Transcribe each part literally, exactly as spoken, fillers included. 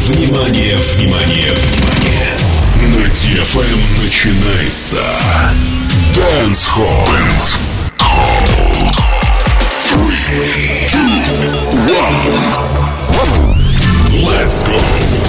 Внимание, внимание, внимание! На ди эф эм начинается Dance Hall. Dance Hall. Three, two, one. Let's go.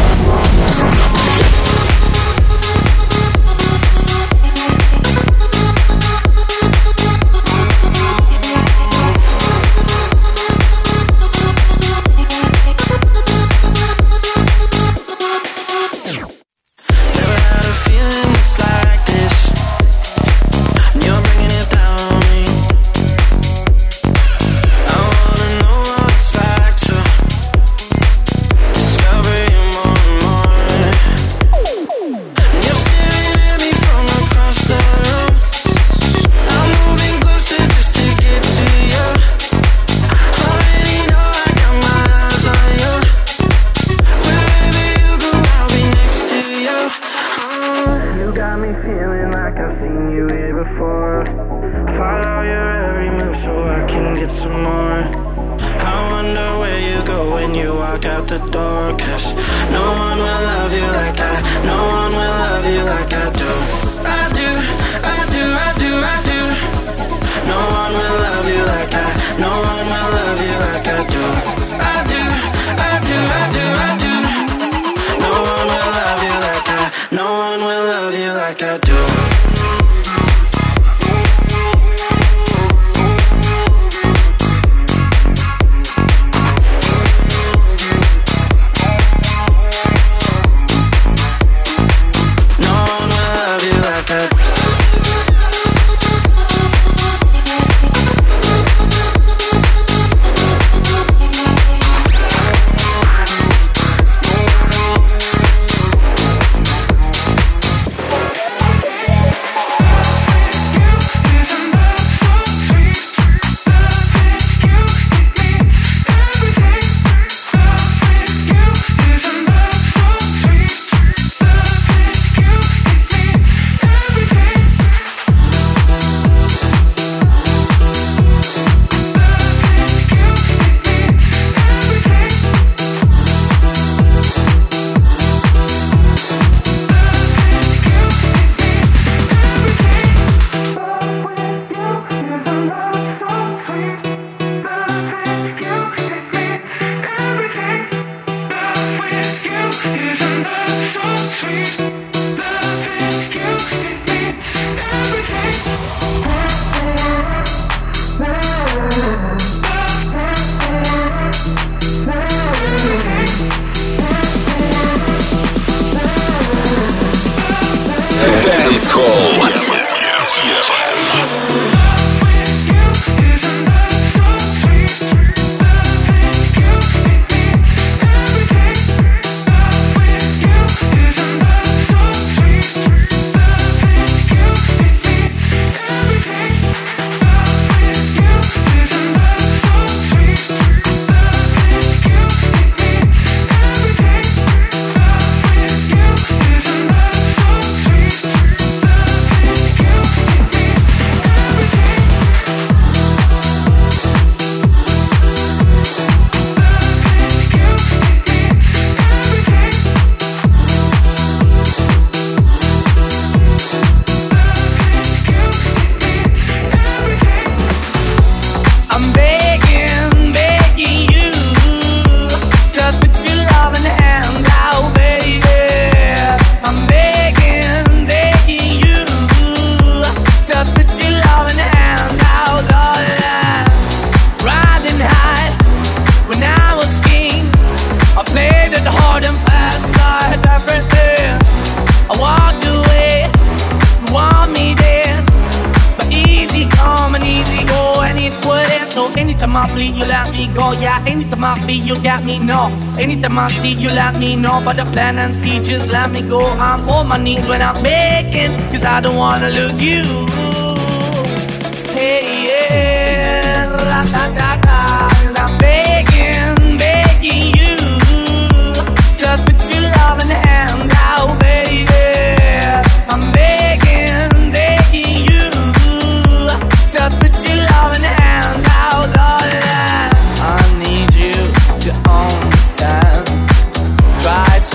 Anytime I see you, let me know about the plan and see, just let me go. I'm on my knees when I'm making, cause I don't wanna lose you. Hey, yeah, ra-da-da-da. I'm begging, begging you to put your love in the hand out, baby. I'm begging, begging you to put your love in the hand out, darling. I need you to understand. Try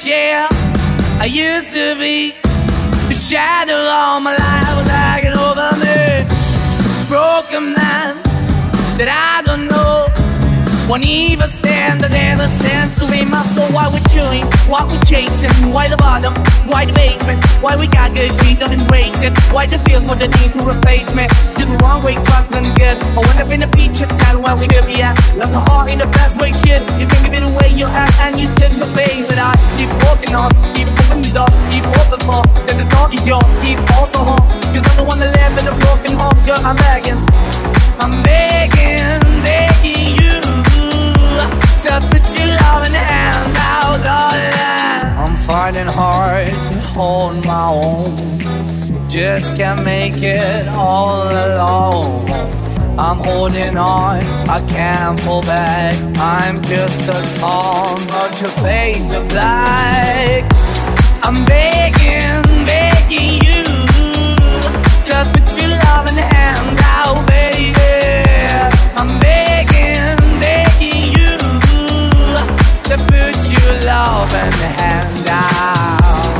share. I used to be the shadow all my life was hanging over me. Broken man that I don't know. Won't even stand, I never stand to be my soul. Why we're chewing, what we're chasing. Why the bottom, why the basement. Why we got good, she don't embrace it. Why the feel for the need to replace me. Did the wrong way, something good. I went up in the feature town where we could be at. Left my heart in the best way, shit. You can give it away, you act and you did the face. But I keep walking on, keep moving the door, keep open for. That the door is yours, keep also home. Cause I'm the one that live in a broken home. Girl, I'm begging, I'm begging, begging you to put your loving hand out, darling. I'm finding hard to hold my own. Just can't make it all alone. I'm holding on, I can't fall back. I'm just a call, but your face of black. I'm begging, begging you to put your loving hand out, baby. I'm begging, begging you to put your loving hand out.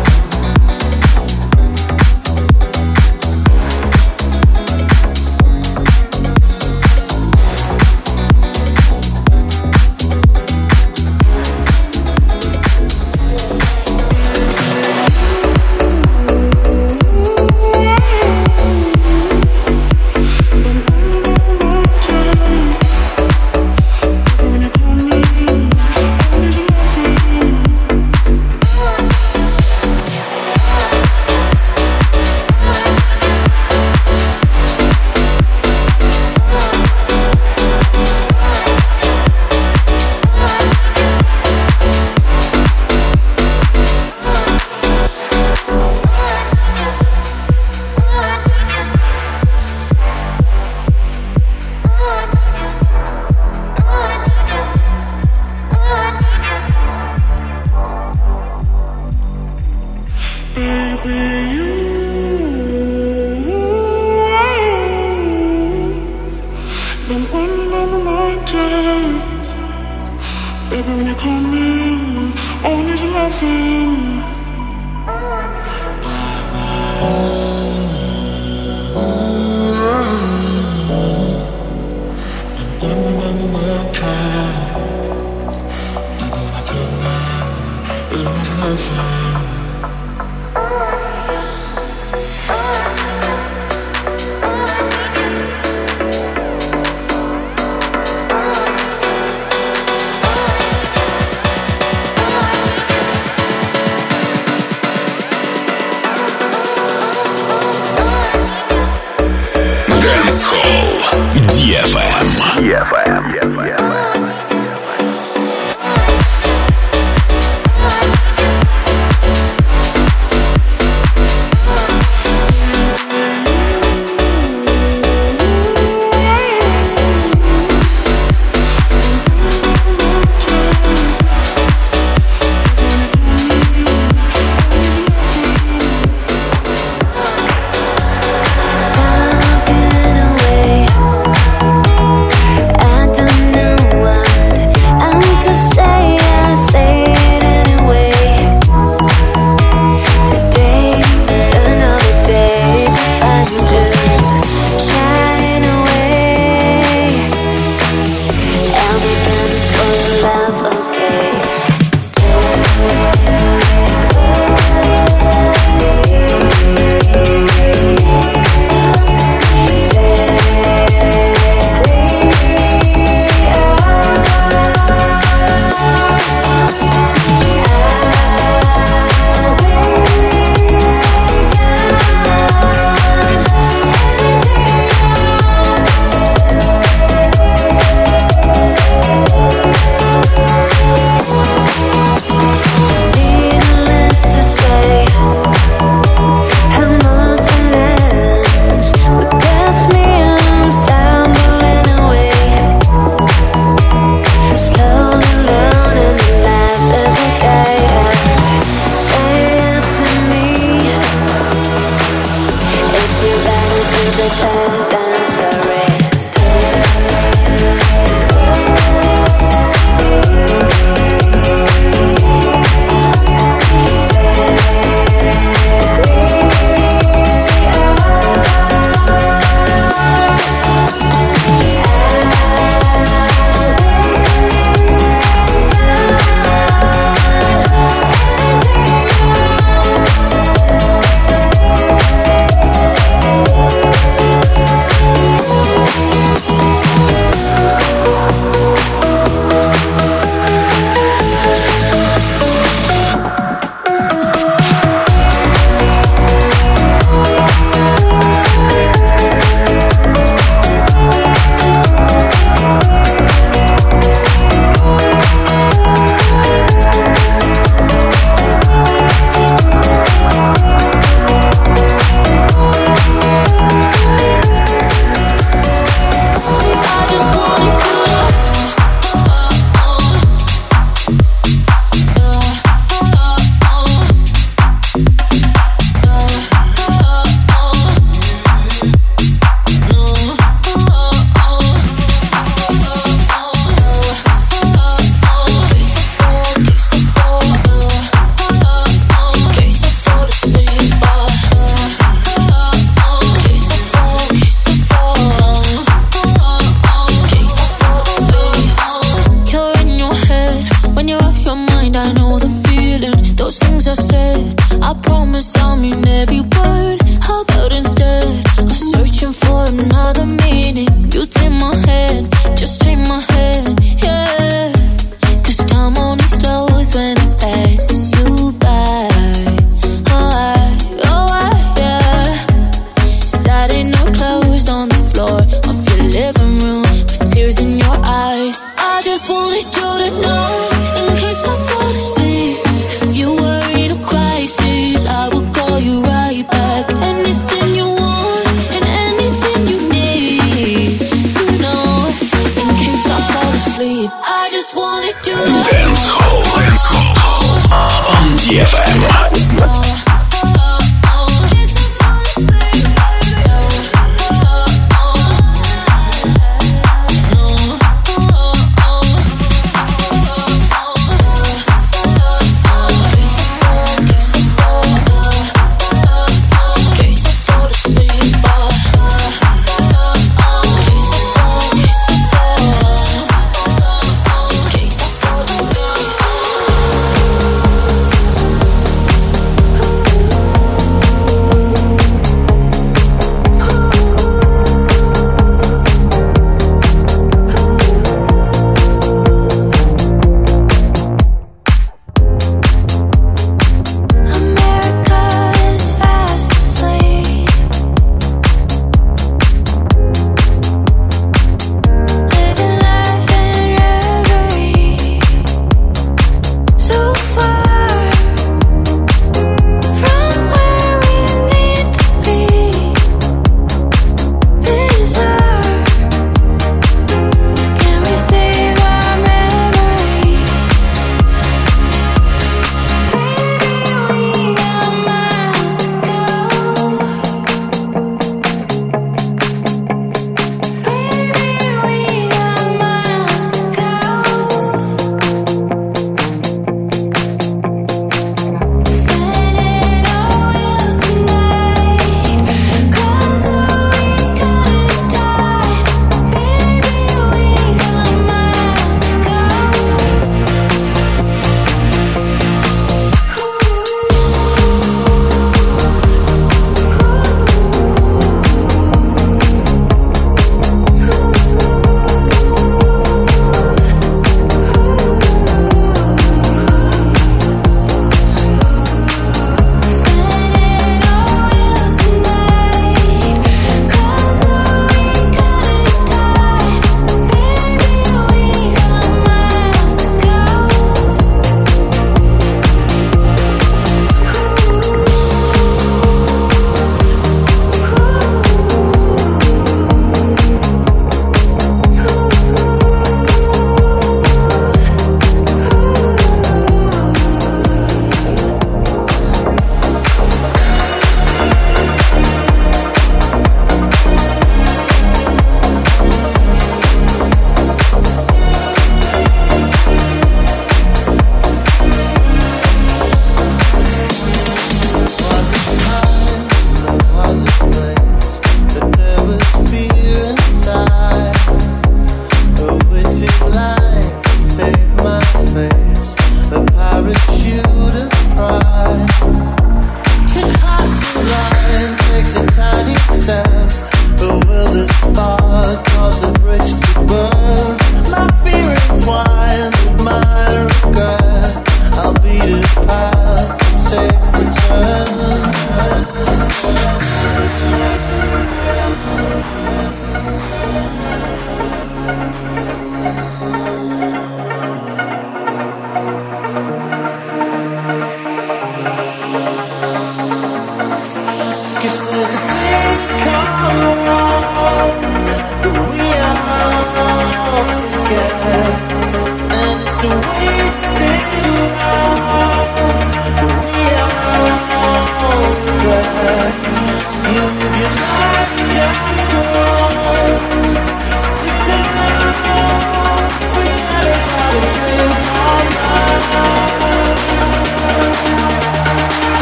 ди эф эм. ди эф эм. said. I promise I'll mean every word. How about instead of searching for another meaning, you take my hand, just take my hand, yeah. Cause time only slows when it passes you by. Alright, alright, yeah. Saturday night clothes on the floor of your living room with tears in your eyes. I just wanted you to know, in case I fall asleep, if you were in a crisis, I would call you right back. Anything you want and anything you need, you know, in case I fall asleep, I just wanted you to know. Dance Hall, Dance Hall on D F M.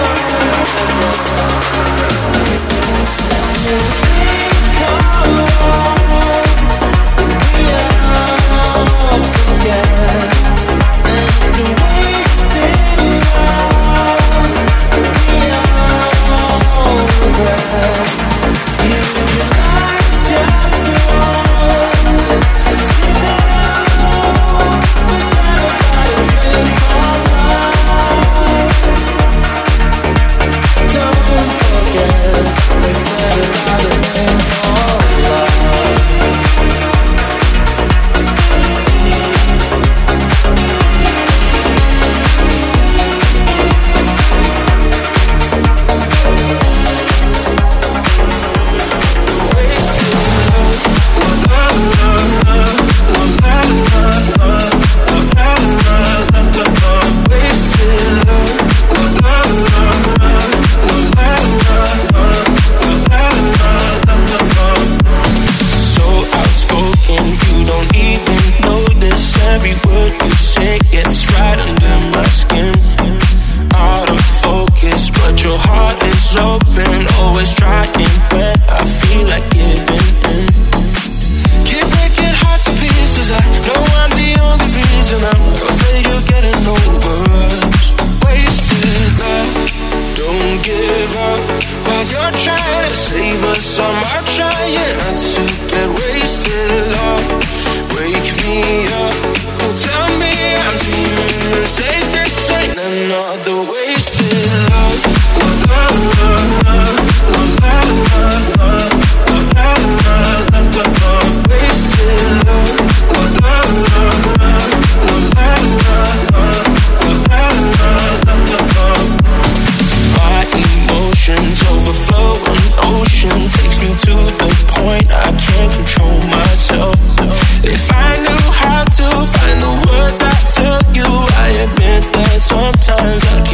Come on. your heart is open, always trying when I feel like giving in. Keep breaking hearts to pieces, I know I'm the only reason. I'm afraid you're getting over us. Wasted love, don't give up. While you're trying to save us, I'm out trying not to get wasted love. Wake me up, oh tell me I'm dreaming and say this ain't another wasted love. La la la la la la la la la la la la. Wasted love. La la la la la la la la la la la. My emotions overflow, an ocean takes me to the point I can't control myself. If I knew how to find the words I tell you, I admit that sometimes I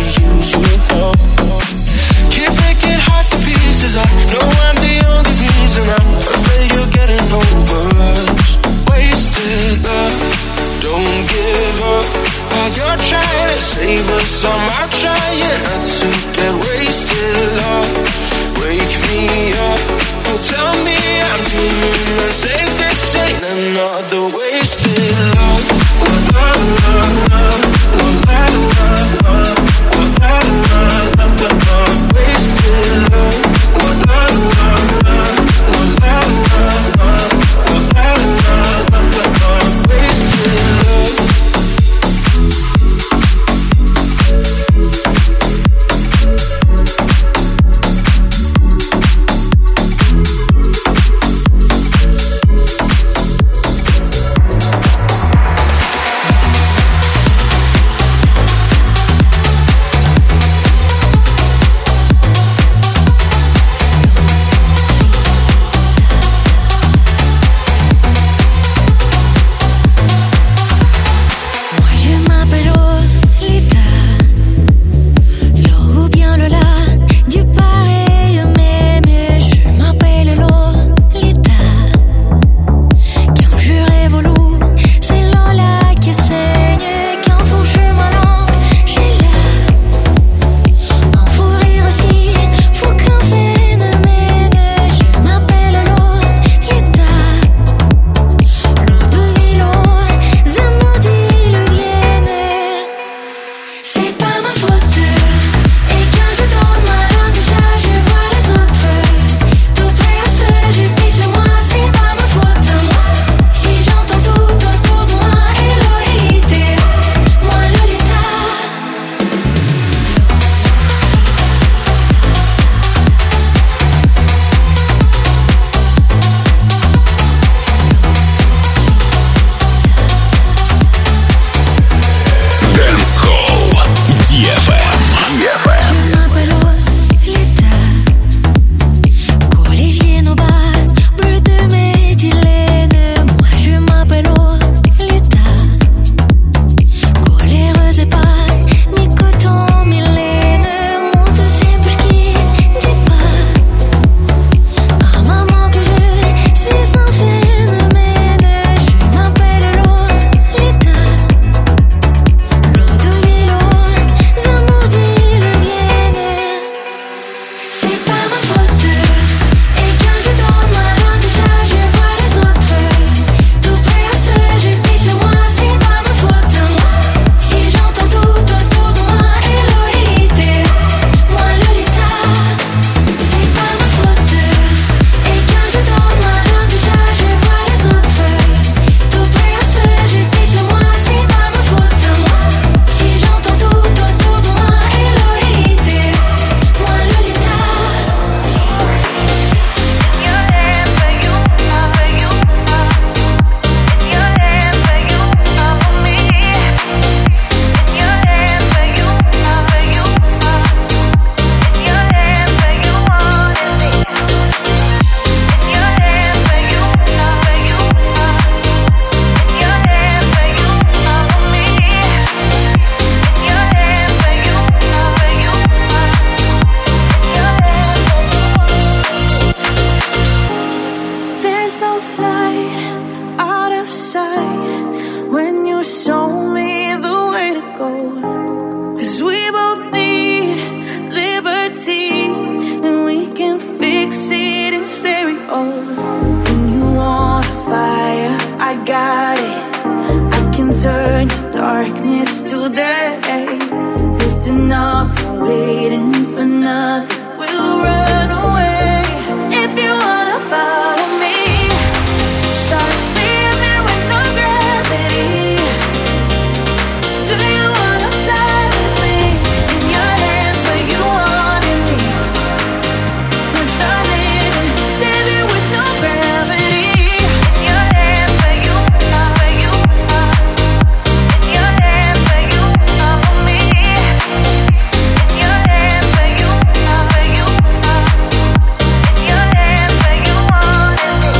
darkness today. Lifting off, waiting for nothing. We'll run away. If you wanna follow me, start living with no gravity. Do you wanna fly with me? In your hands where you wanted me. Let's start living, living with no gravity. In your hands where you are, where you are. In your hands where you follow me. In your hands where you are, where you are. In your hands where you wanted me.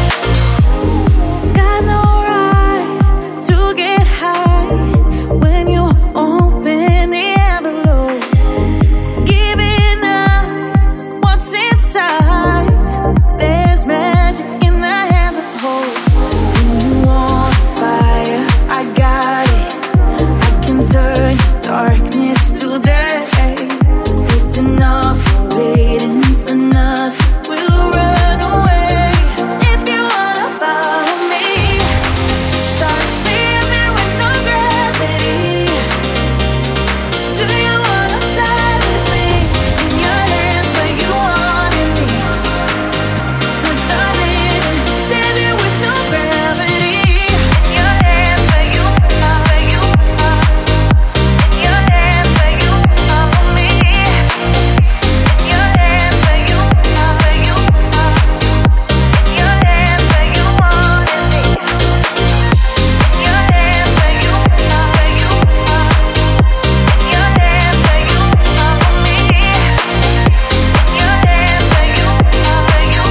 Got no right to get high when you open the envelope, giving up what's inside. There's magic in the hands of hope. When you want fire, I got it. I can turn darkness to day. Lifting off, waiting for nothing. We'll run away. If you wanna follow me, start living with no gravity. Do you wanna fly with me? In your hands where you wanted me. Let's start living, living with no gravity. In your hands where you are, where you are. In your hands where you follow me. In your hands where you are, where you are. In your hands where you wanted me. In your hands where you are, where you are. In your hands where you follow me. In your hands where you are, where you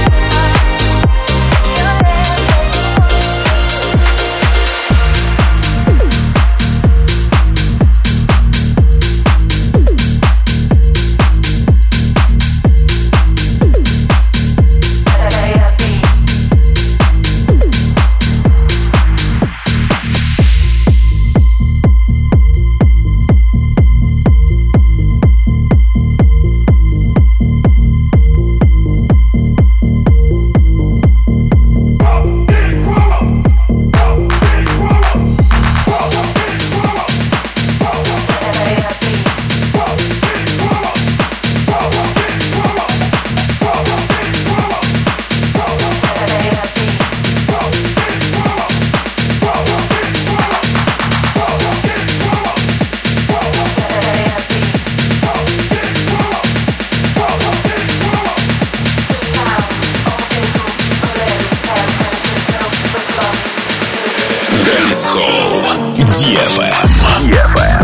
Dancehall ди эф эм. ди эф эм.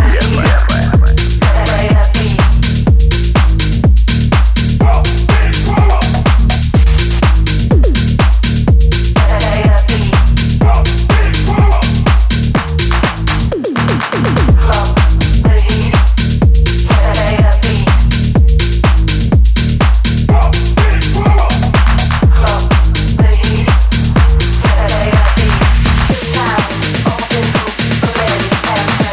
Let it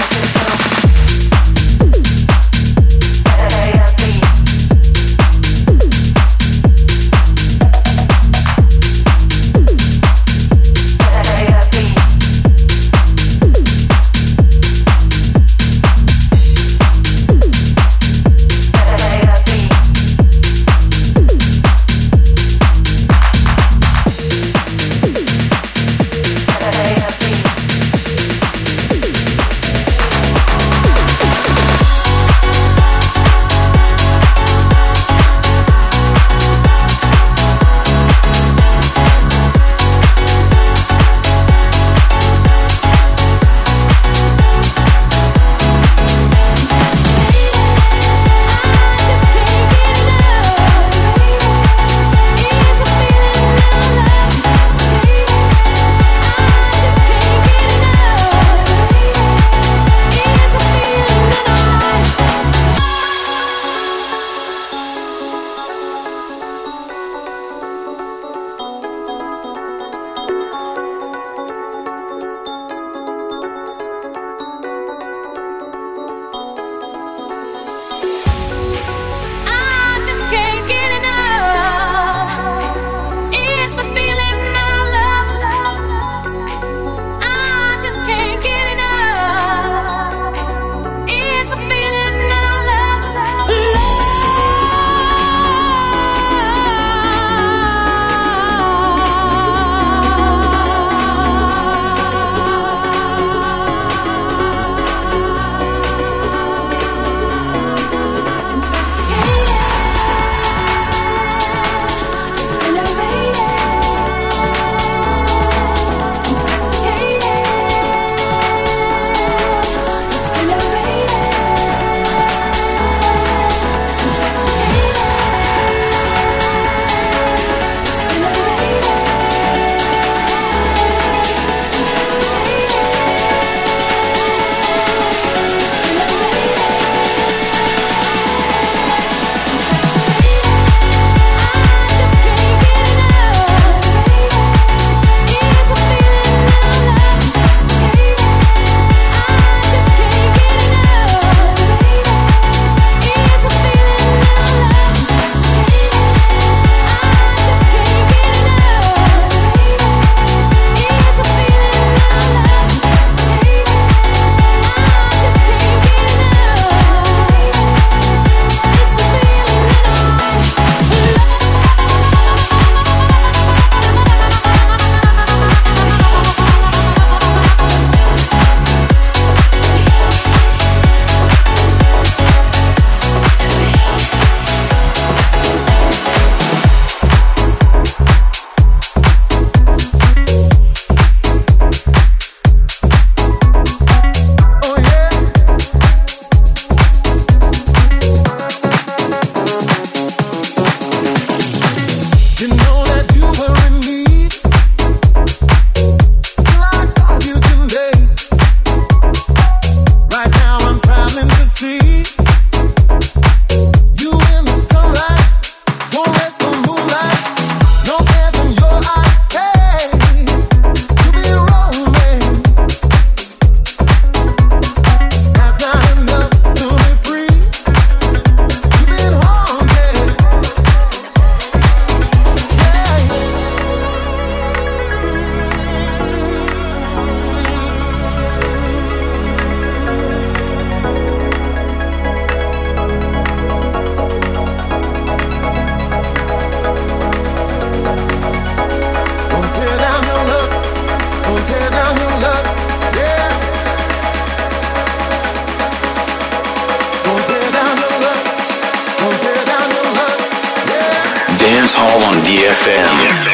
Dance Hall on D F M.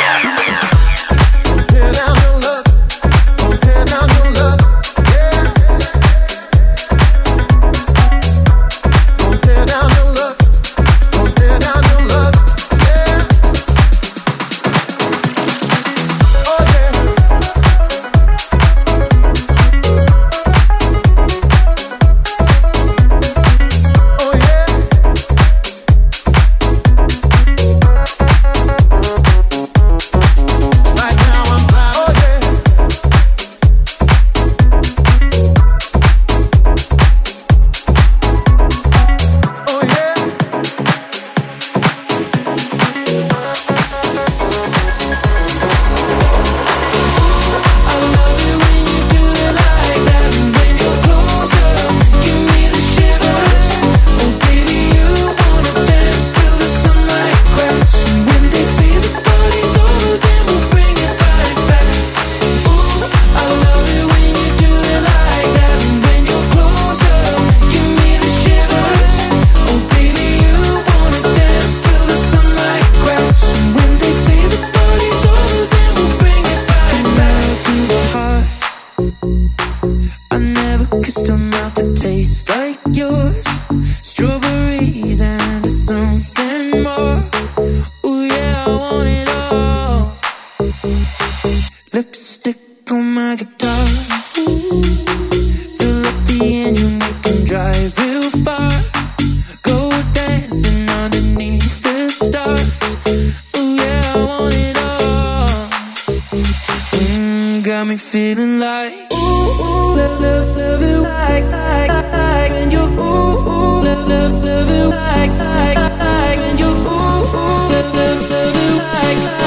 Like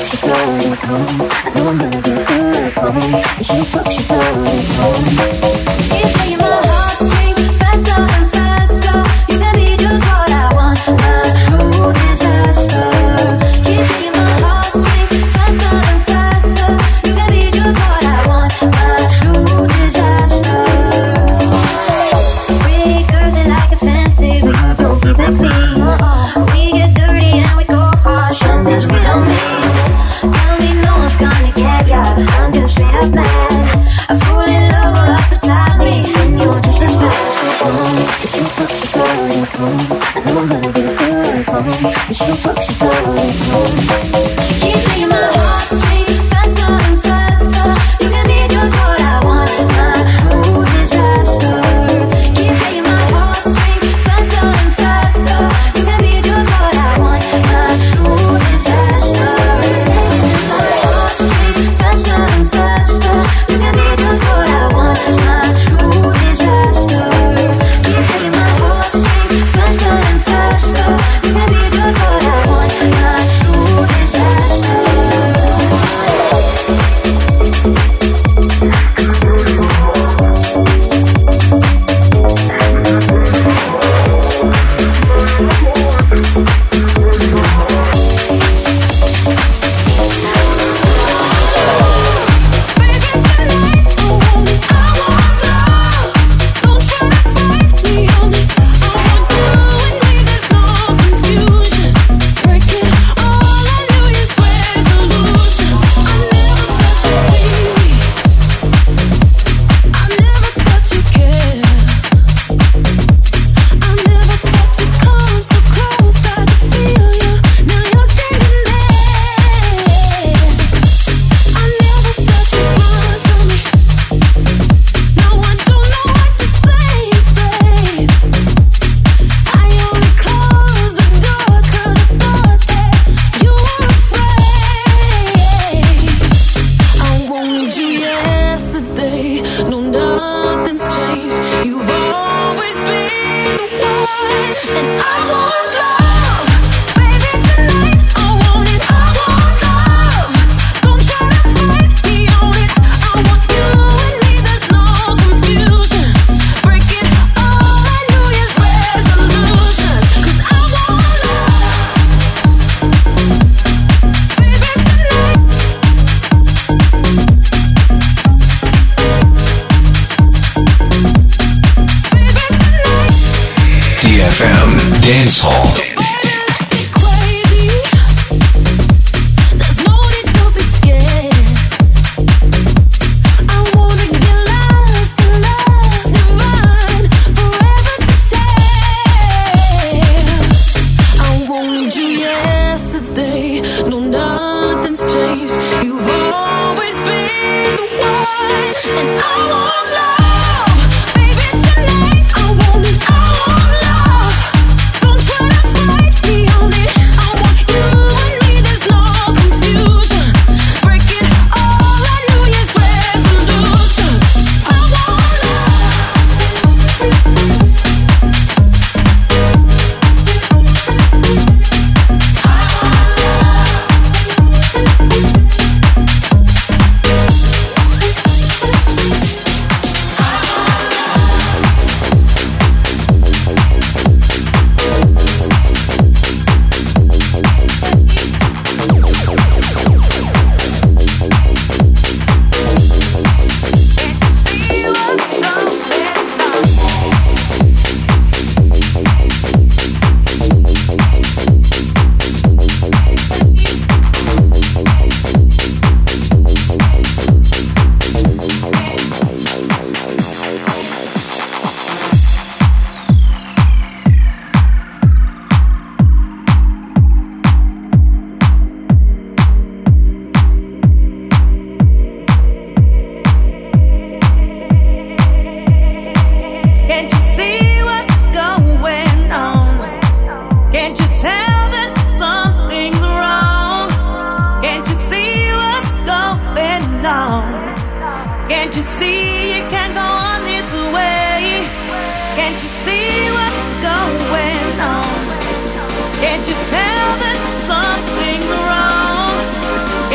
Can't you tell that something's wrong?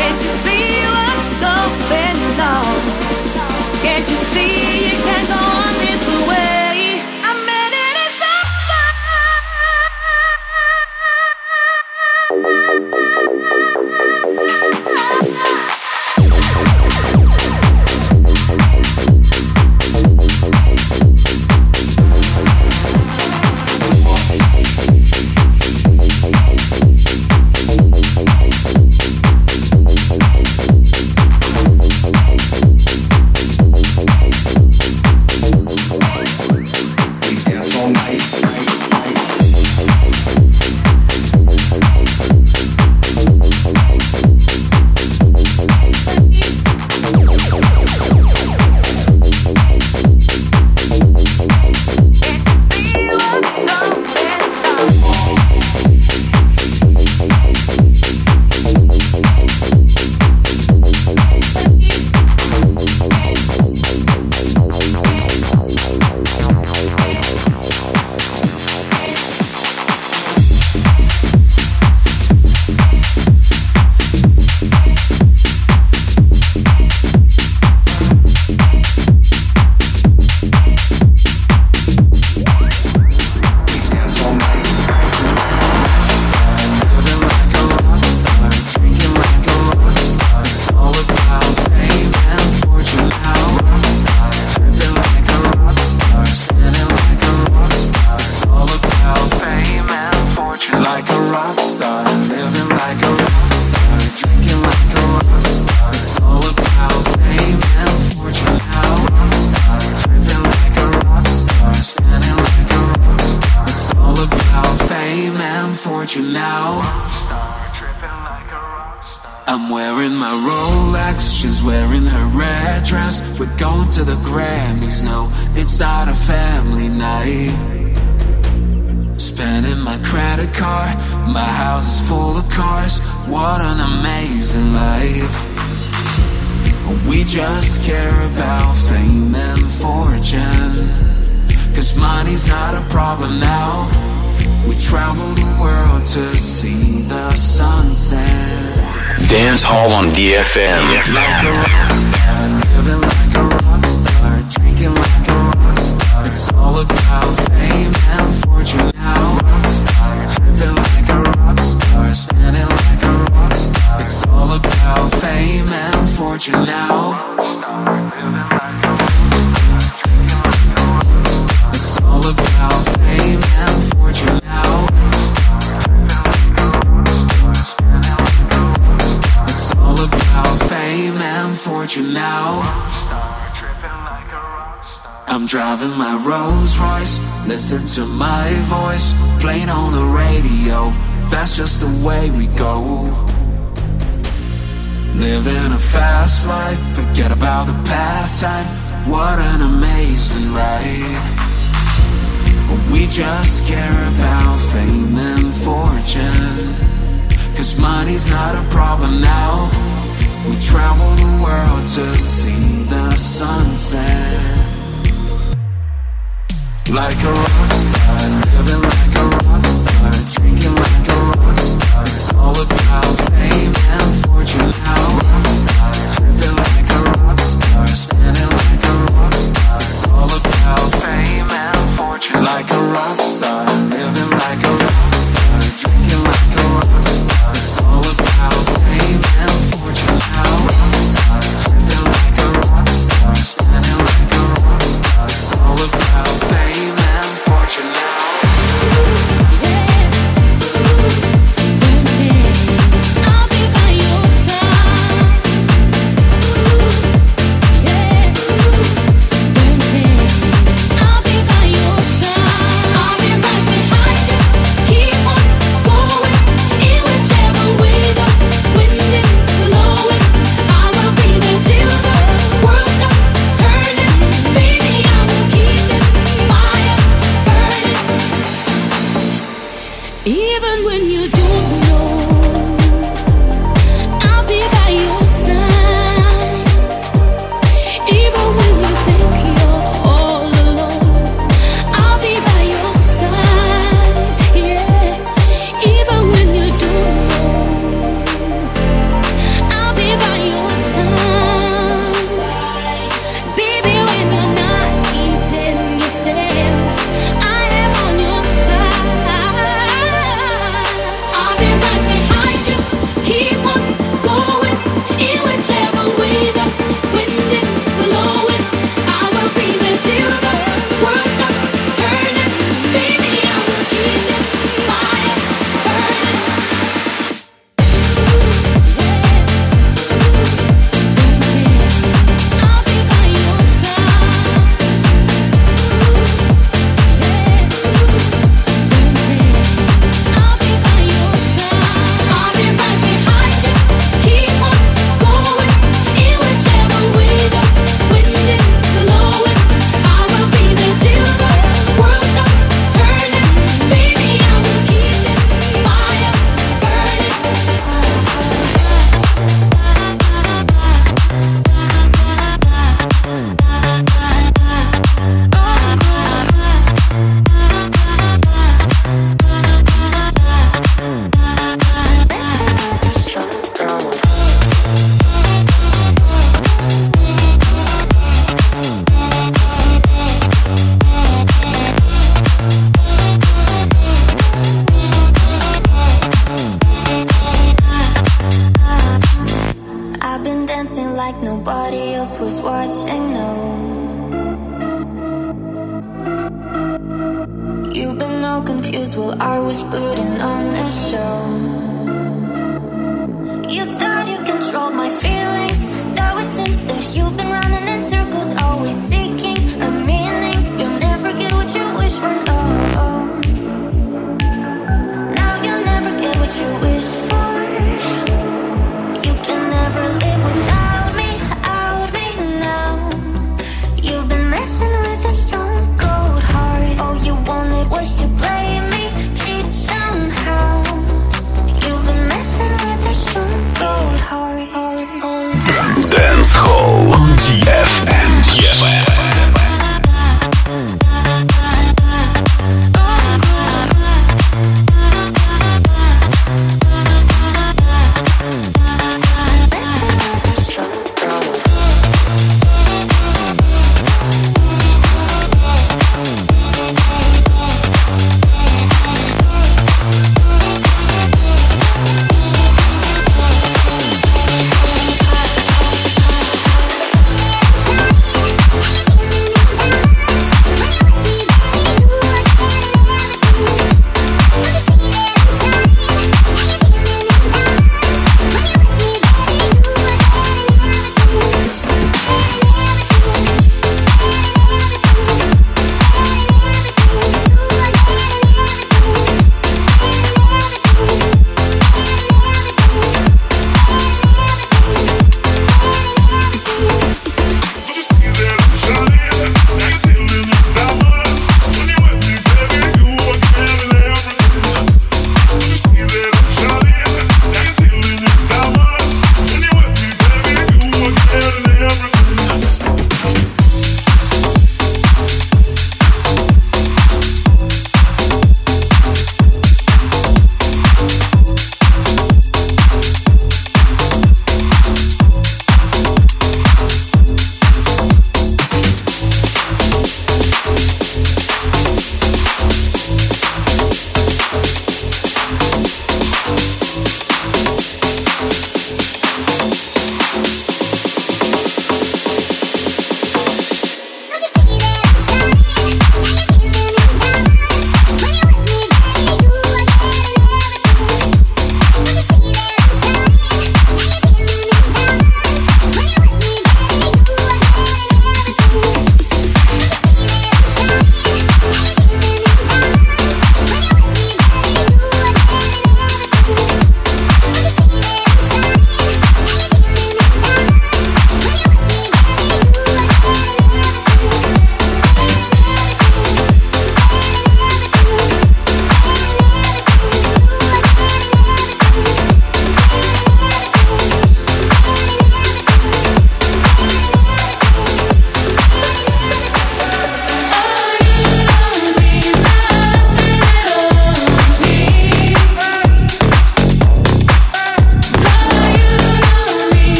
I'm wearing my Rolex, she's wearing her red dress. We're going to the Grammys, no, it's not a family night. Spending my credit card, my house is full of cars. What an amazing life. We just care about fame and fortune, 'cause money's not a problem now. We travel the world to see the sunset. Dance Hall on D F M. Like a rock star, living like a rock star, drinking like a rock star. It's all about fame and fortune now. Rock star, tripping like a rock star, spinning like a rock star. It's all about fame and fortune now. It's all about fame and fortune now. Fame and fortune now. I'm driving my Rolls Royce, listen to my voice playing on the radio. That's just the way we go. Living a fast life, forget about the past time. What an amazing ride. We just care about fame and fortune, 'cause money's not a problem now. We travel the world to see the sunset. Like a rock star, living like a rock star, drinking like a rock star. It's all about fame and fortune now. Rock star, tripping like a rock star, spinning like a rock star. It's all about fame and fortune. Like a rock star, living like a rock star, drinking like a rock star. It's all about fame and fortune now. Rock star, tripping like a rock star, spinning like a rock star. It's all about fame and fortune now. I'll be by your side. I'll be by your side. I'll be right behind you. Keep on going in whichever way the wind is blowing. I will be there till the world stops turning. Baby, I will keep this fire burning. Even when you don't know, I'll be by your side. Even when you think you're all alone, I'll be by your side. Yeah. Even when you don't know, I'll be by your side. Baby, when you're not even yourself, I am on your side. I'll be right behind you. Keep on going in whichever way the wind is blowing. I will be there till the world stops turning. Baby, I will keep this fire burning. I'll be by your side. I'll be by your side. I'll be right behind you. Keep on going in whichever way the wind is blowing. I will be there till the world stops turning. Baby, I will keep this fire burning. I've been dancing like nobody else was watching, no. You've been all confused while I was putting on a show. You thought you controlled my feelings, though it seems that you've been running in circles, always seeking a meaning. You'll never get what you wish for, no. Now you'll never get what you wish for. You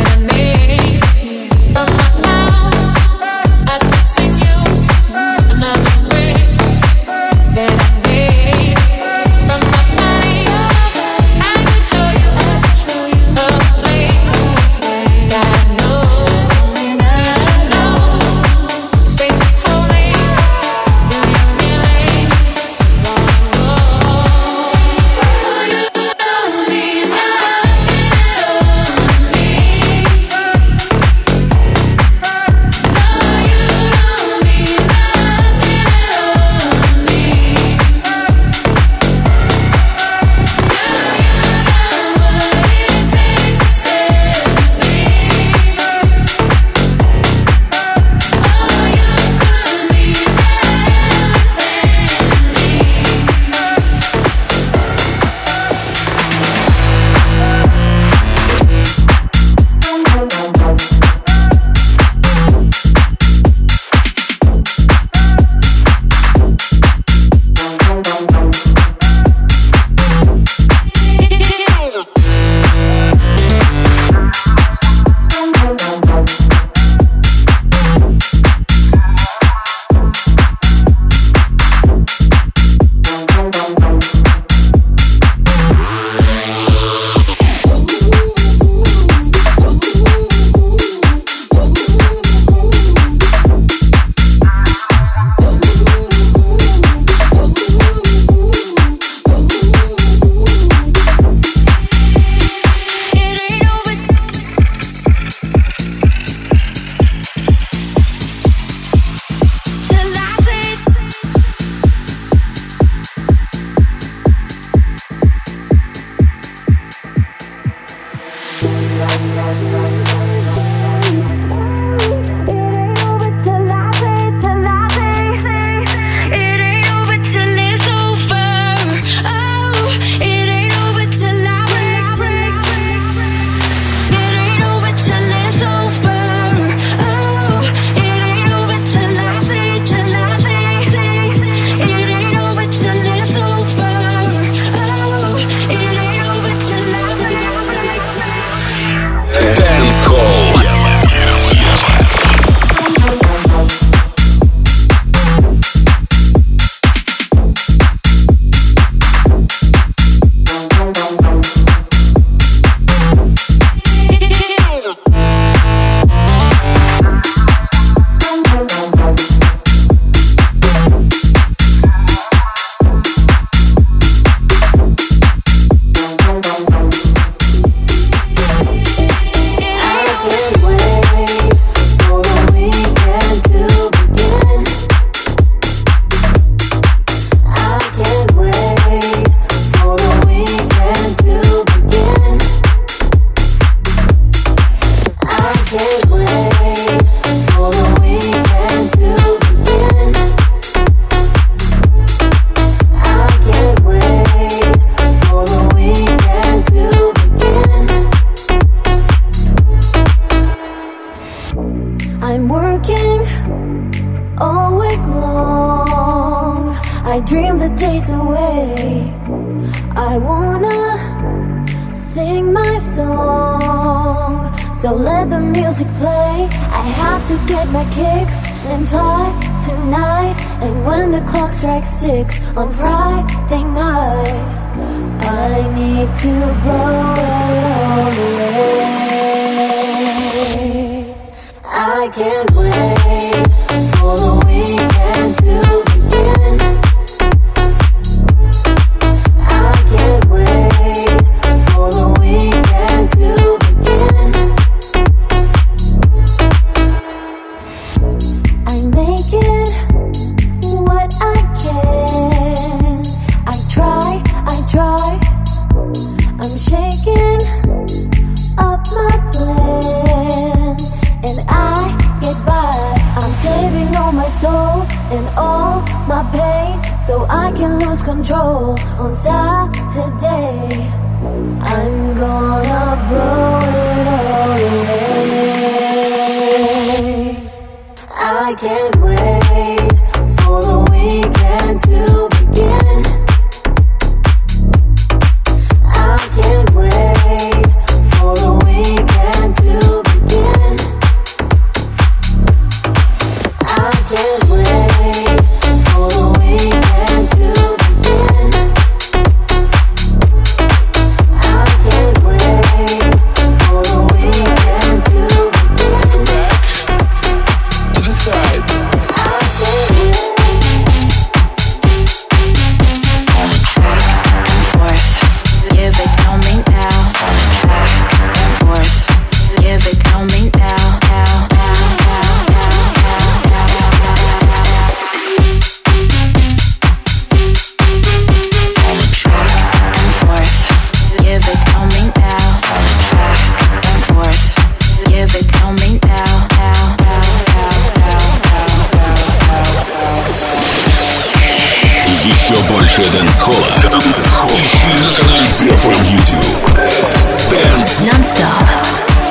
I dream the days away. I wanna sing my song, so let the music play. I have to get my kicks and fly tonight. And when the clock strikes six on Friday night, I need to blow it all away. I can't wait for the weekend to begin. I can't wait for the weekend to begin. I make it what I can. I try, I try. I'm shaking up my plan, and I get by. I'm saving all my soul and all my pain, so I can lose control on Saturday. I'm gonna blow it all away. I can't wait for the weekend to begin. I can't wait for the weekend to begin. дэнс-холла. Ищи на канале ди эф эм YouTube. Dance Non-stop.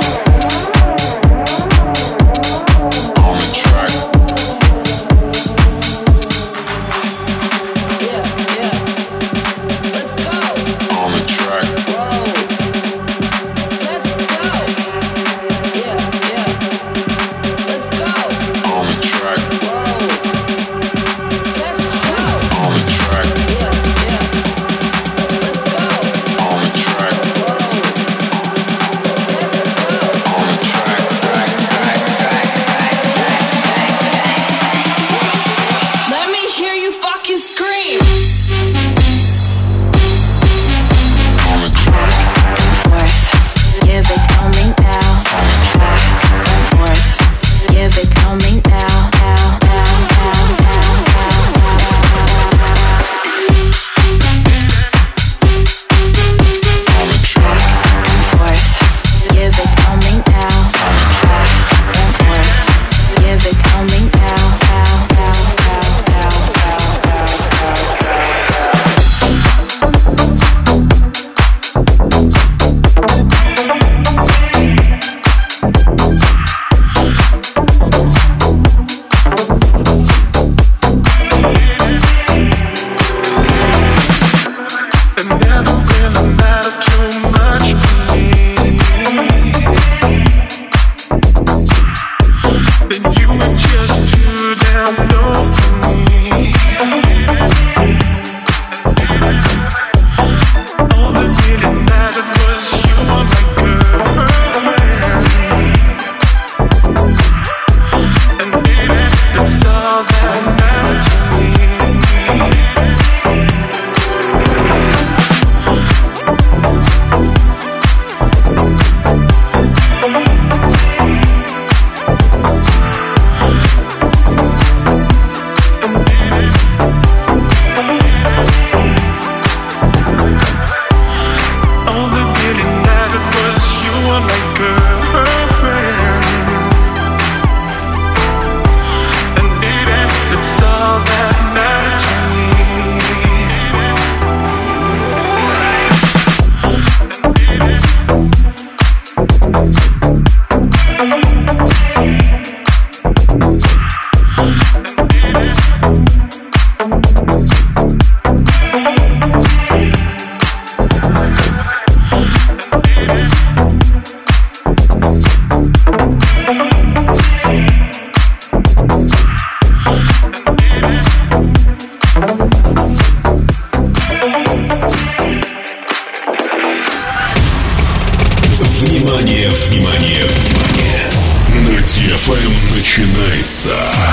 Внимание, внимание, внимание! На ди эф эм начинается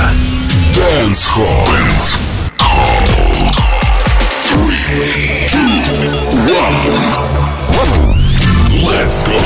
Dance Hall. Dance Hall. Three, two, one. Let's go.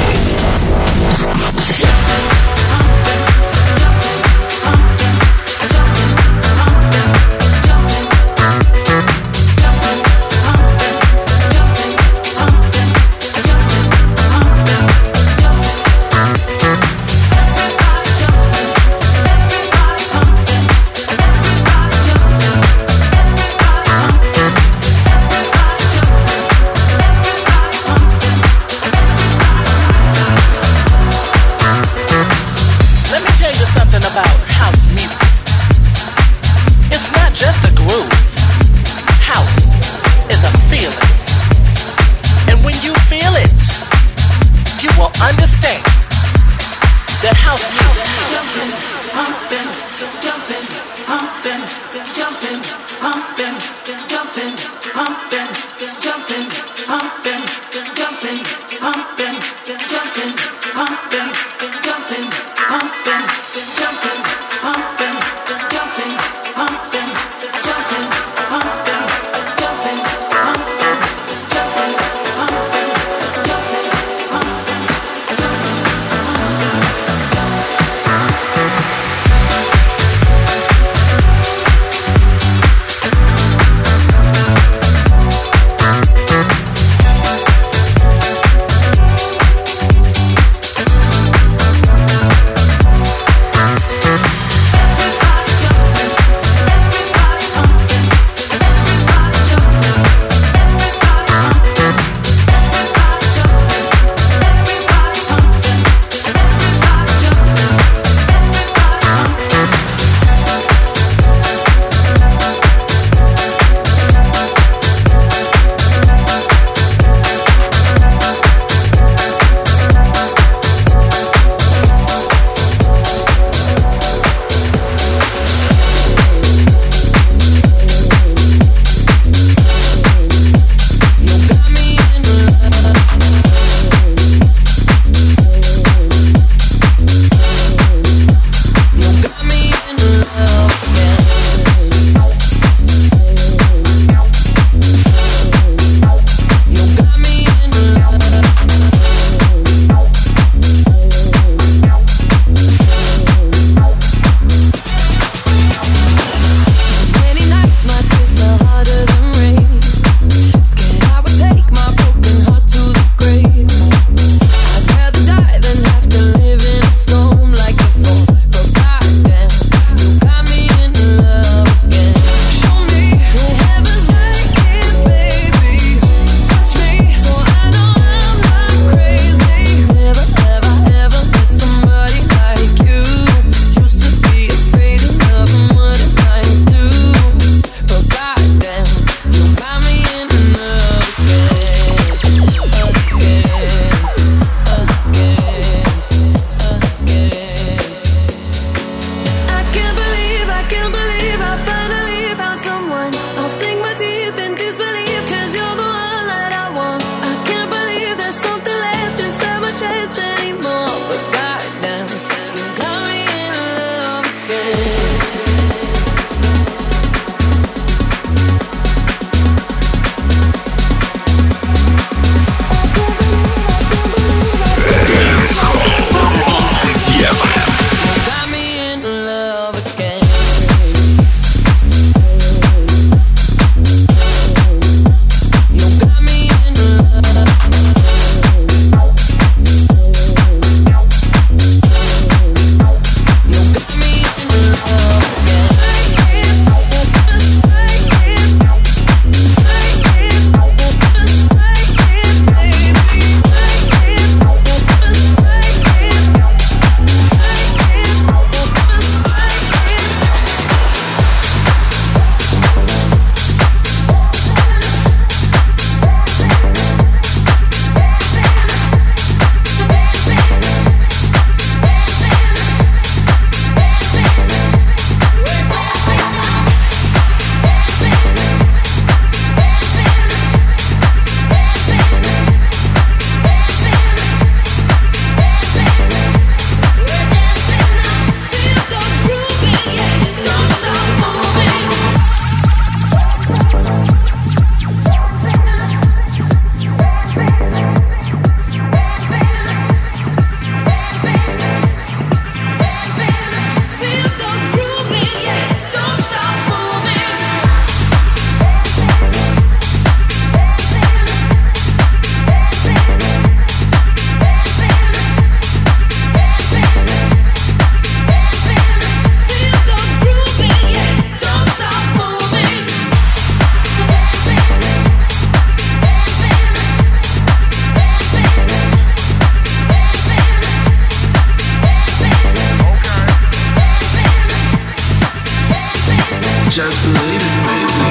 Just believe it, baby.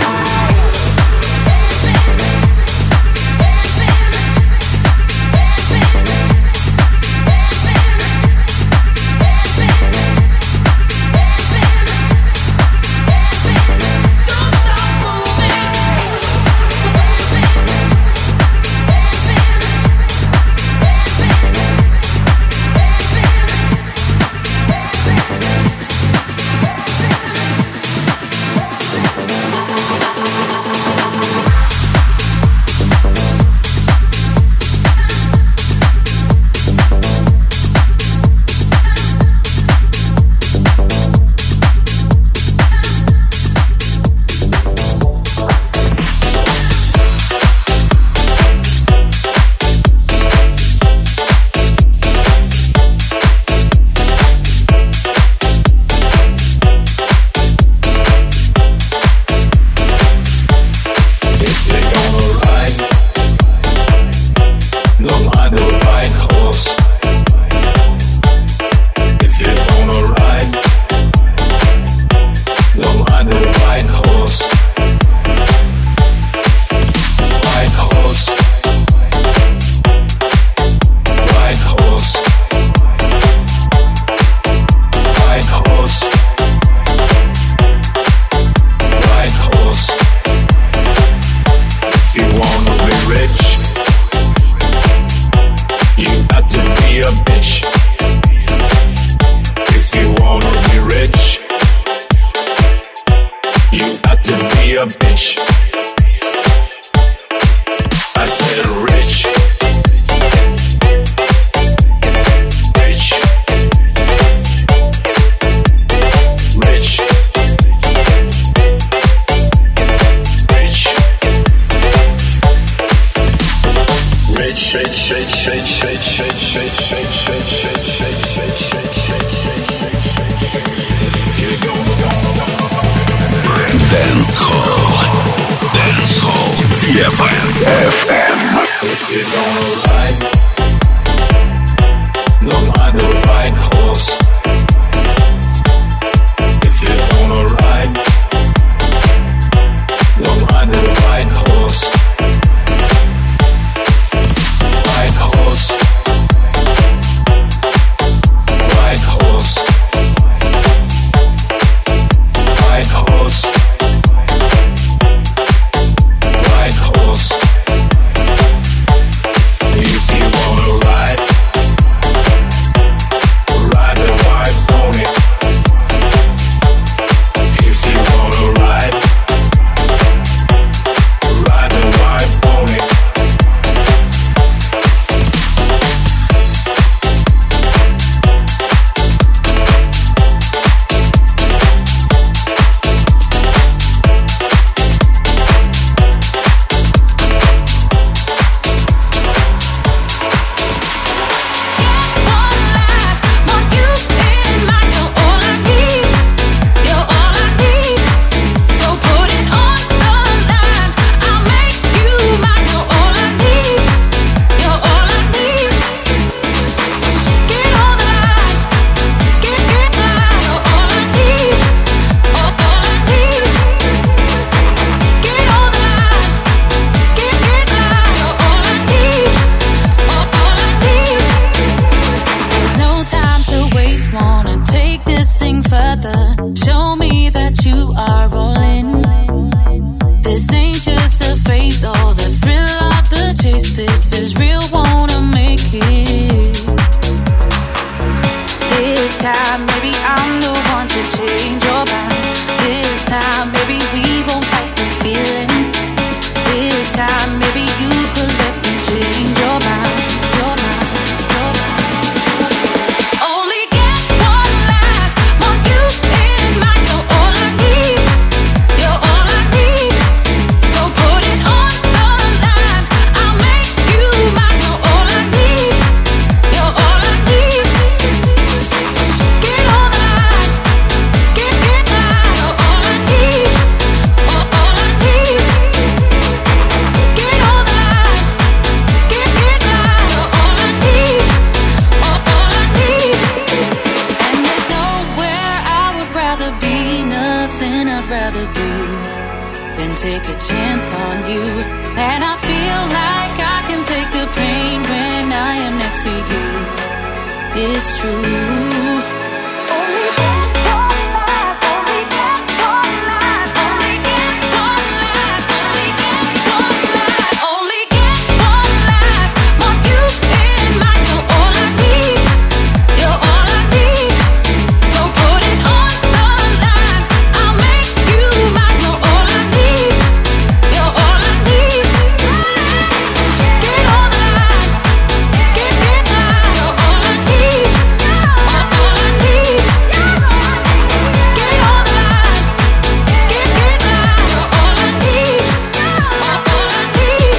nothing I'd rather do than take a chance on you. And I feel like I can take the pain when I am next to you. It's true. Only get one life, only get one life, only get one life, only get one life, only get one life. Want you in mind, you're all I need, you're all I need. So put it on the line, I'll make you mine. You're all I need, you're all I need. Get on the line, get get line. You're all I need, you're all I need. Get on the line, get get line. You're all I need, you're all I need.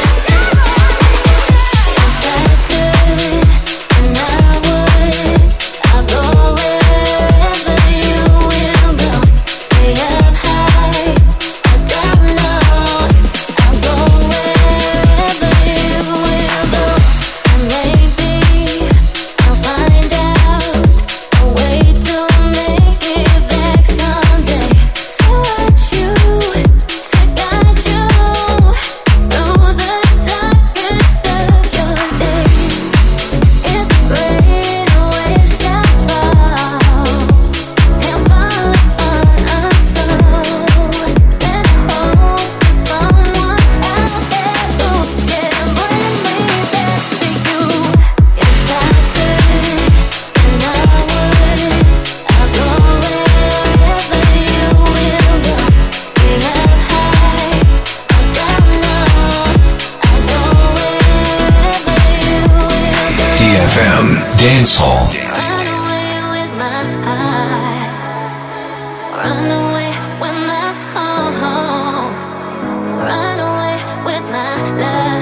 If I could, and I would, I'll go wherever you will go. Way up high or down low, I'll go wherever you will go. And maybe I'll find out a way to make it back someday. To watch you, to guide you through the darkest of your days. If the great waves shall fall and fall upon us all, then hope that someone's out there who can bring me back to you. If I could, and I would, I'll go wherever you will go. Way up high or down low, I'll go wherever you will go. D F M Dance Hall. Run away with my heart. Run away with my home. Run away with my love.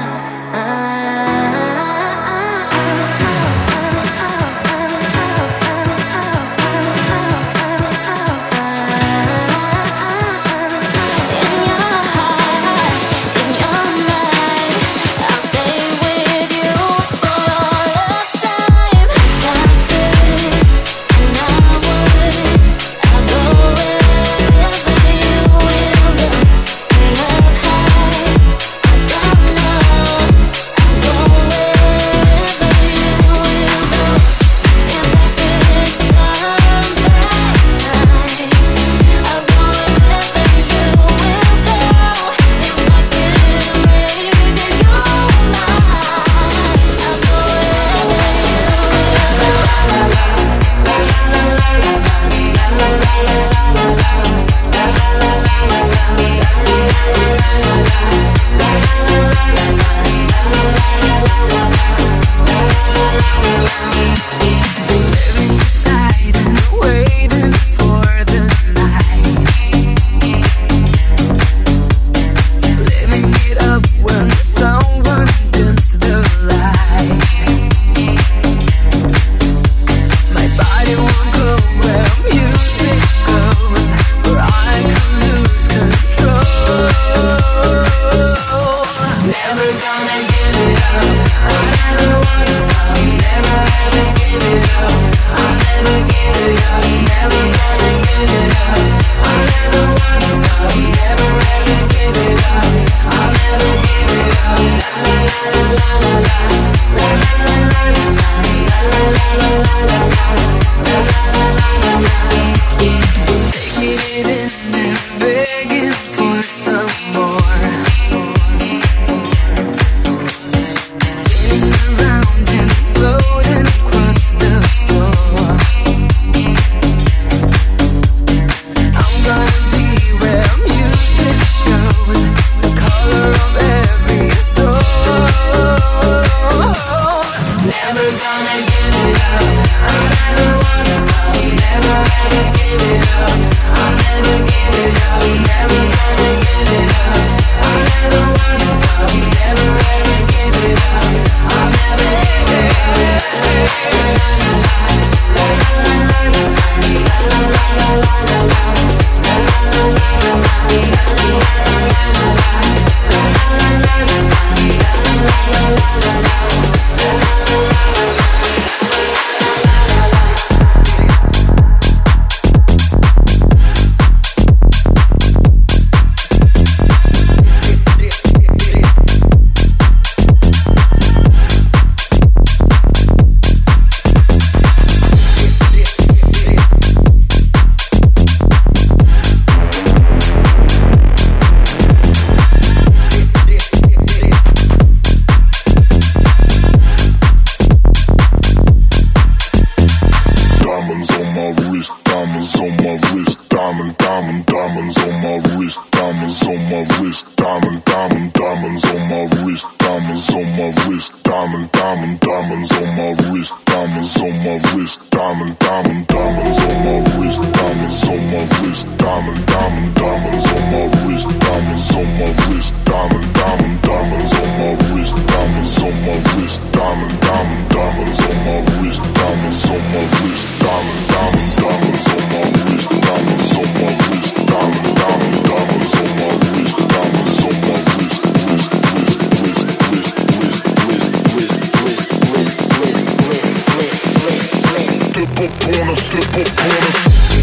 In your heart, in your mind, I'll stay with you for all of time. If I could, and I would, I'll go wherever my wrist, diamonds on my wrist, diamond, diamond, diamonds on my wrist, diamonds on my wrist, diamond, diamond, diamonds on my wrist, diamonds on my wrist, diamond, diamond, diamonds on my wrist, diamonds on my wrist, diamond, diamond, diamonds on my wrist, diamonds on my wrist, diamond, diamond, diamonds on my wrist, diamonds on my wrist, diamond, diamond, diamonds on my wrist, diamonds on my wrist, diamond, diamond, diamonds on my wrist, diamonds on my wrist, diamond, diamond, diamonds on my wrist, diamonds on my wrist, diamond, diamond, diamonds on my wrist, diamonds on my wrist, wrist, wrist, wrist, wrist, wrist, wrist, wrist, wrist, wrist, wrist, wrist, wrist, wrist, wrist. Step up on us, step up on us.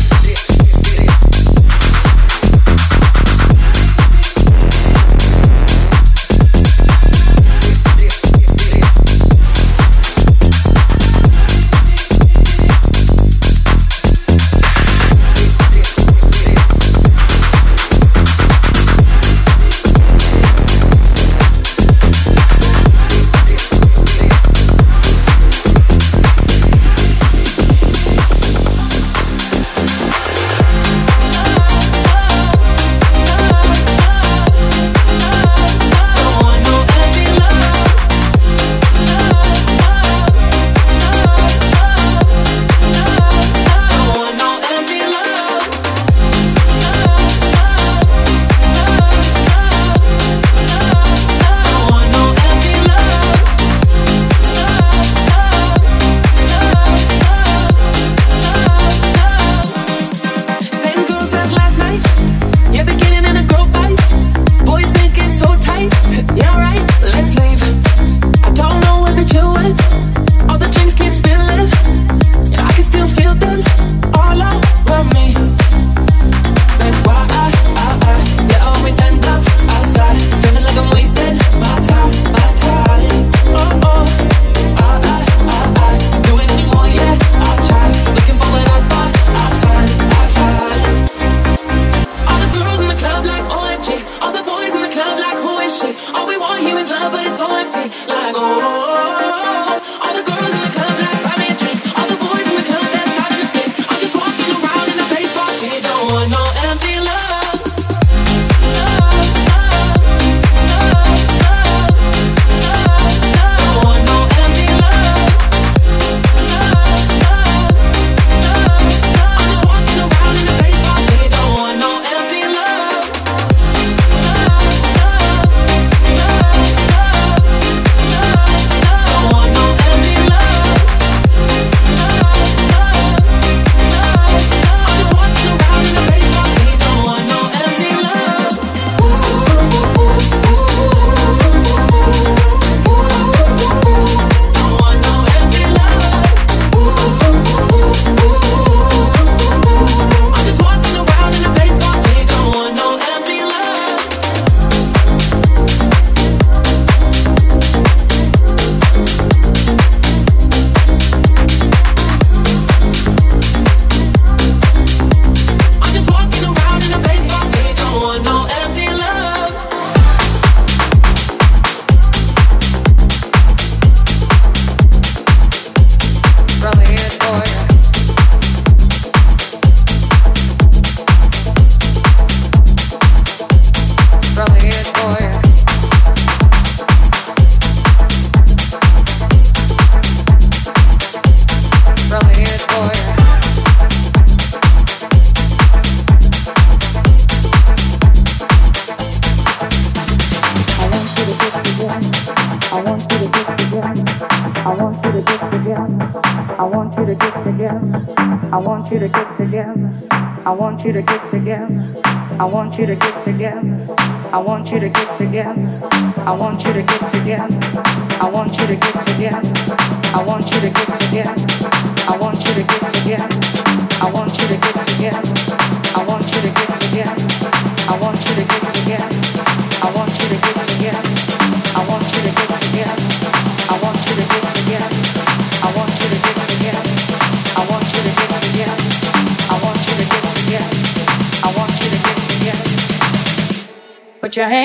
Put your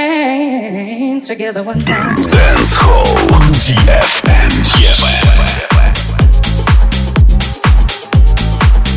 hands together one time. Dance Hall Ди эф эм.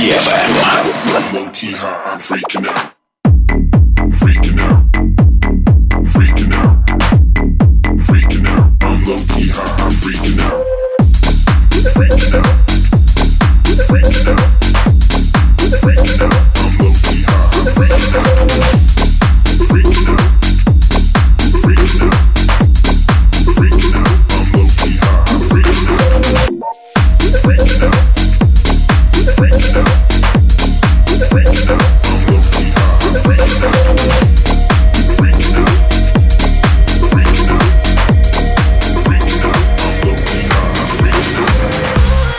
эф эм. Low-key high, I'm freaking out. Freaking out. Freaking out. Freaking out. I'm low-key high, I'm freaking out. Freaking out. Freaking out. Freaking out. I'm low-key high, I'm freaking out. Freaking out. Freaking out. Freaking out. I'm low-key high, I'm freaking out. Freaking out. Freaking out. Freaking out. I'm low-key high, I'm freaking out. Freaking out. Freaking out. Freaking out. I'm low-key high, I'm freaking out.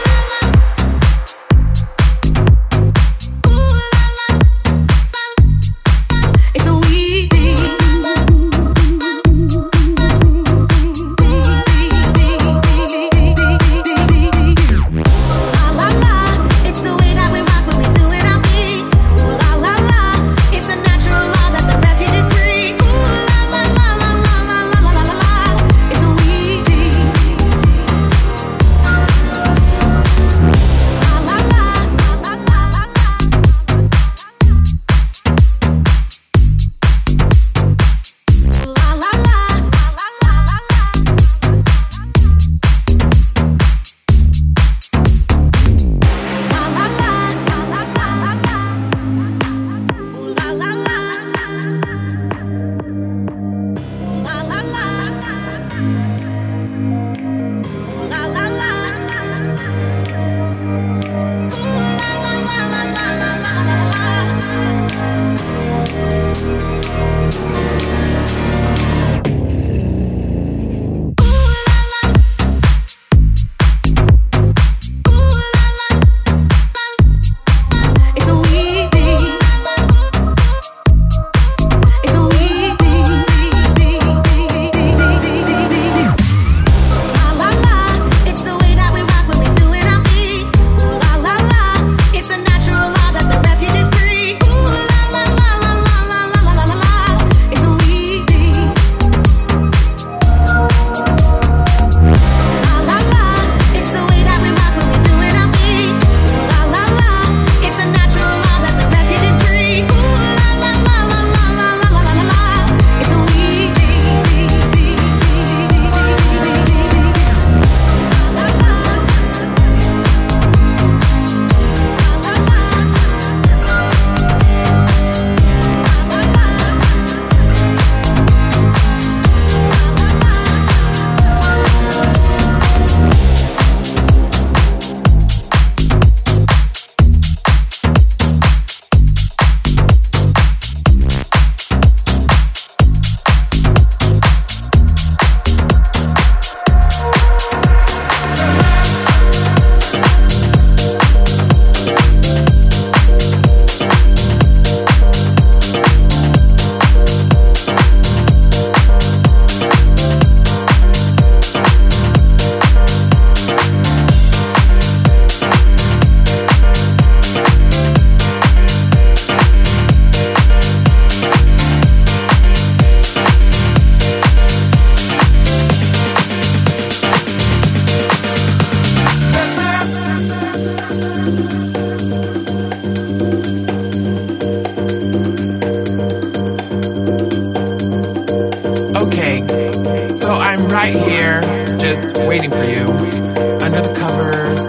right here, just waiting for you, under the covers.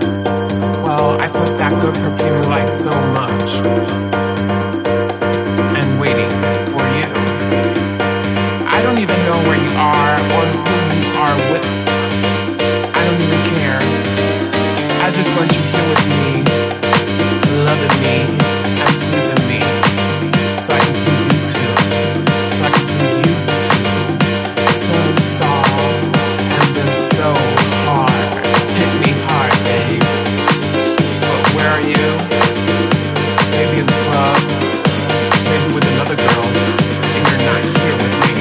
Well, I put that good perfume you like so much, and waiting for you. I don't even know where you are or who you are with. I don't even care. I just want you here with me, loving me and pleasing me, so I can please you too, so I can please you too. So soft and then so hard. Hit me hard, babe. But where are you? Maybe in the club, maybe with another girl, and you're not here with me.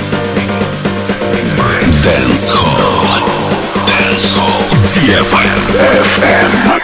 Dance Hall. Dance Hall. ди эф эм. эф эм.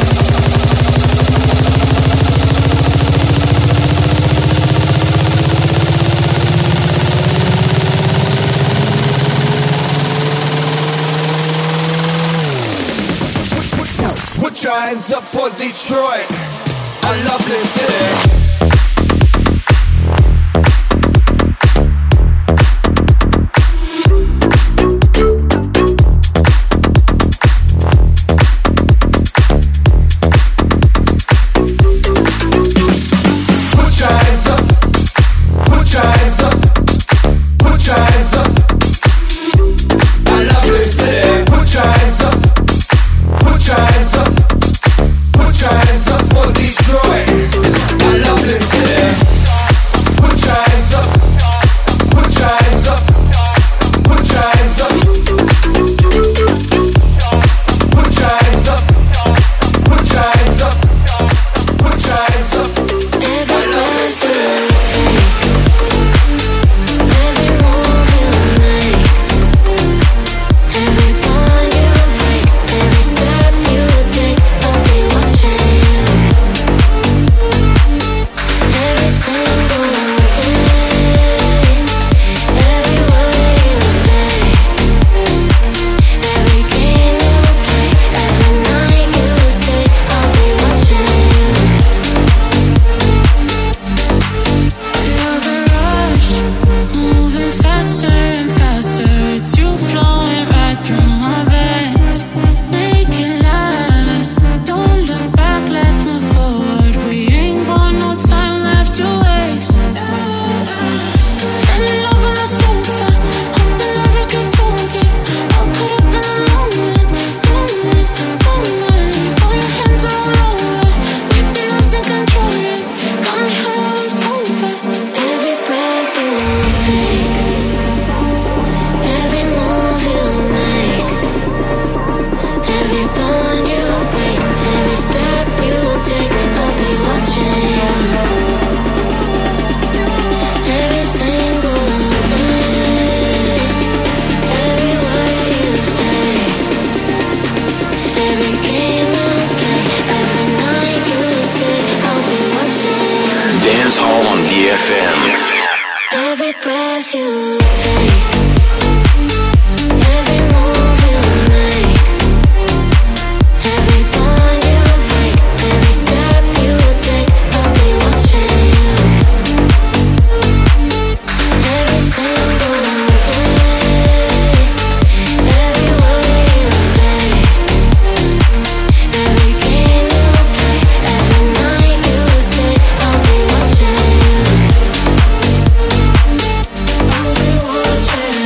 Put your hands up for Detroit, a lovely city. Watching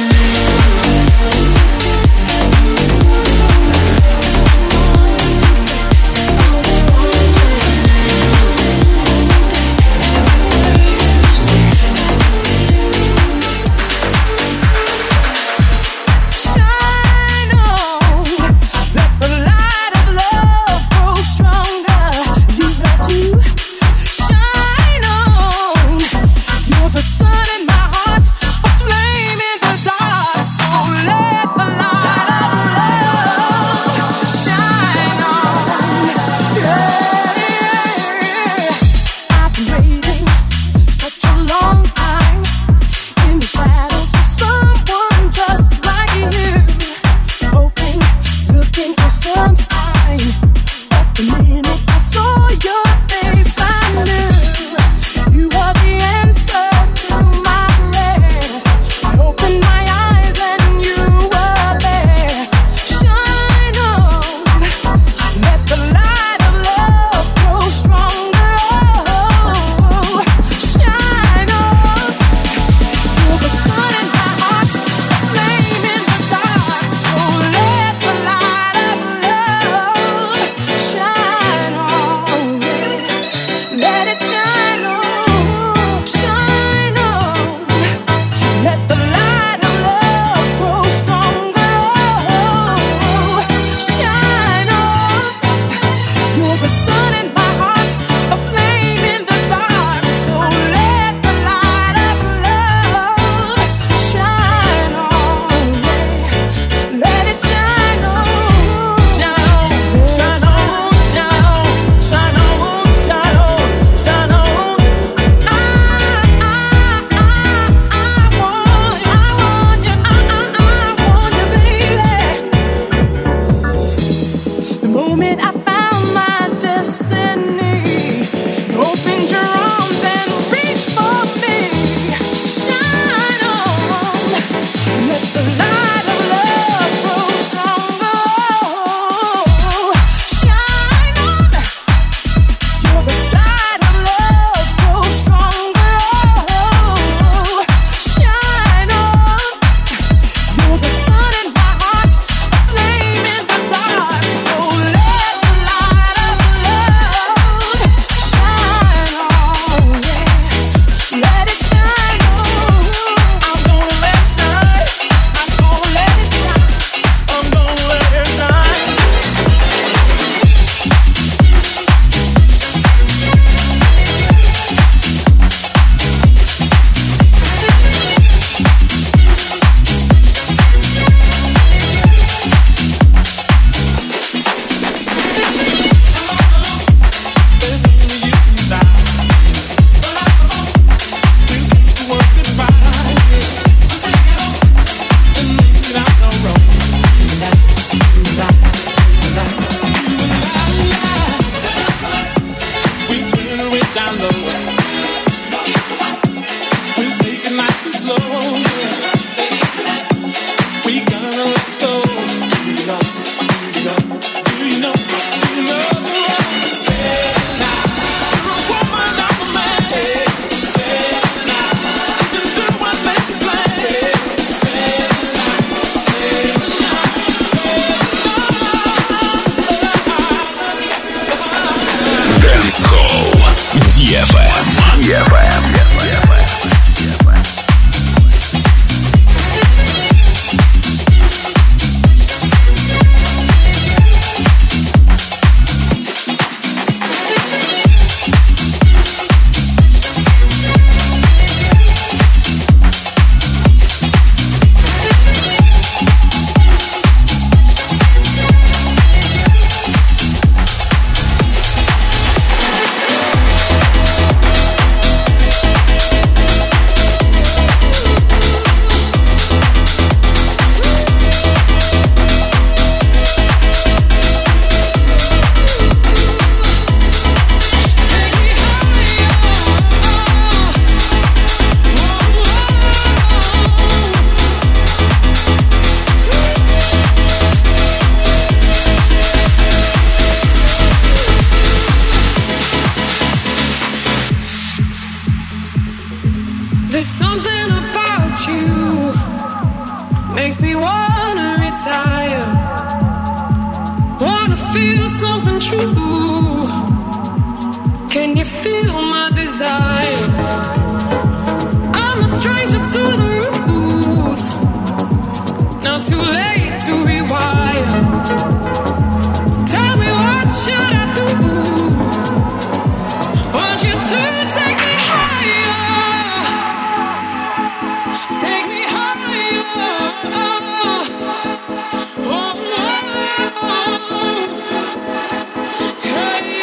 Hey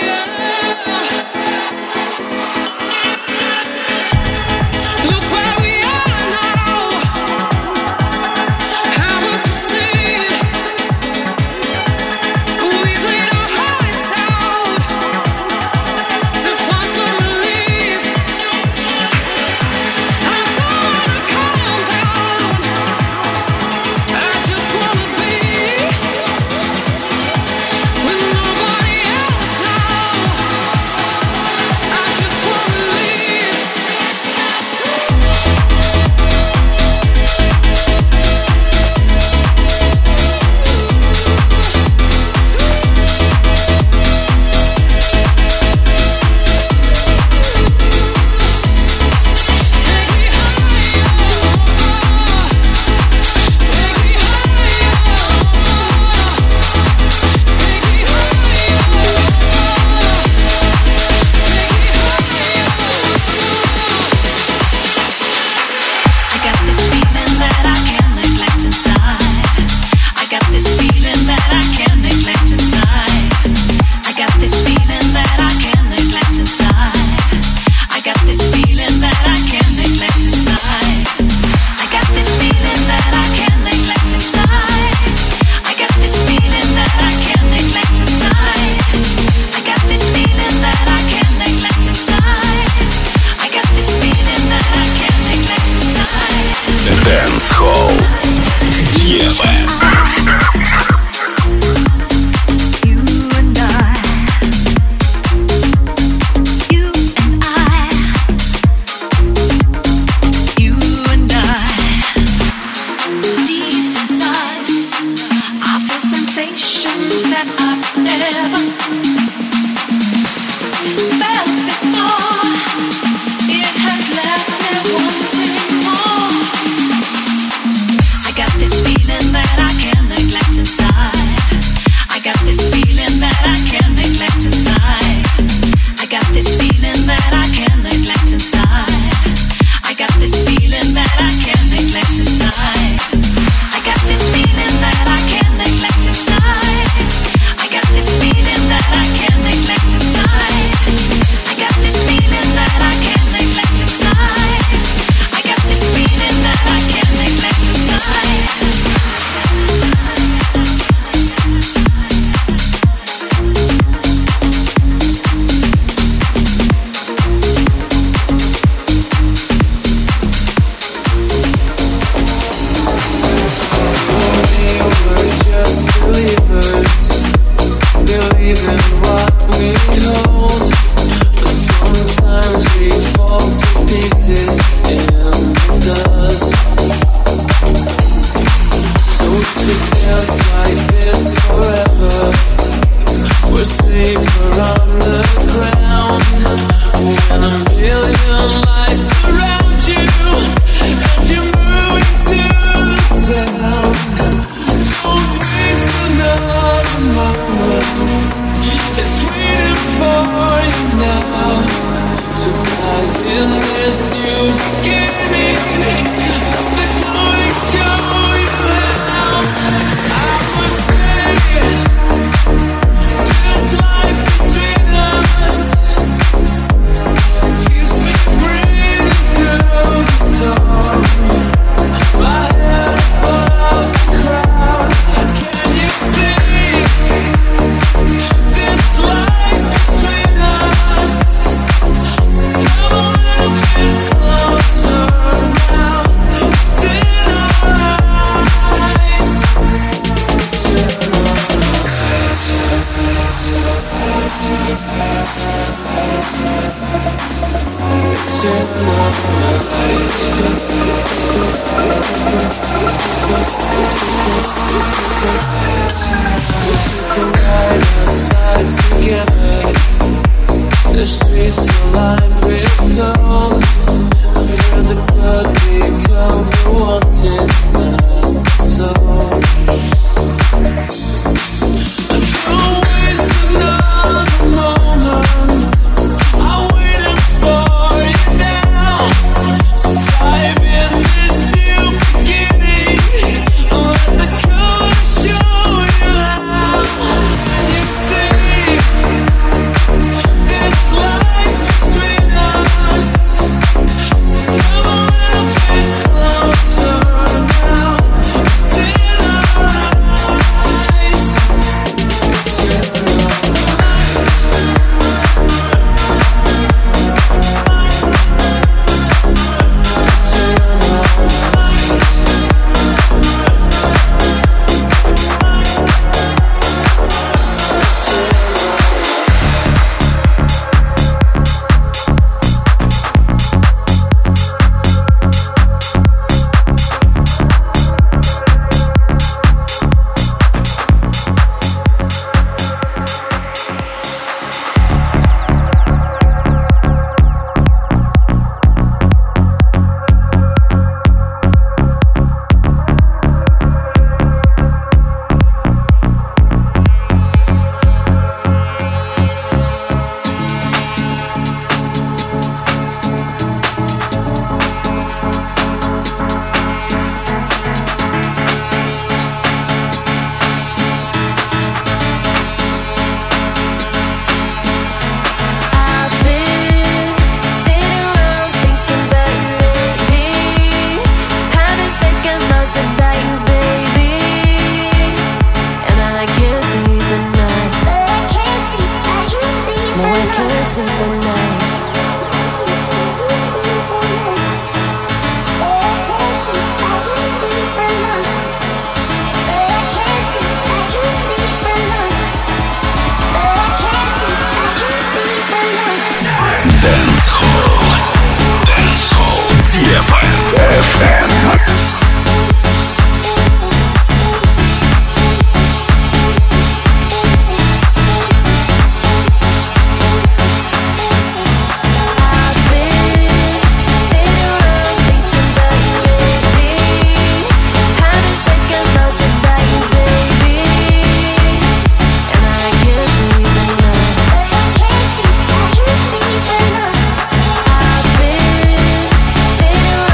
I've been sitting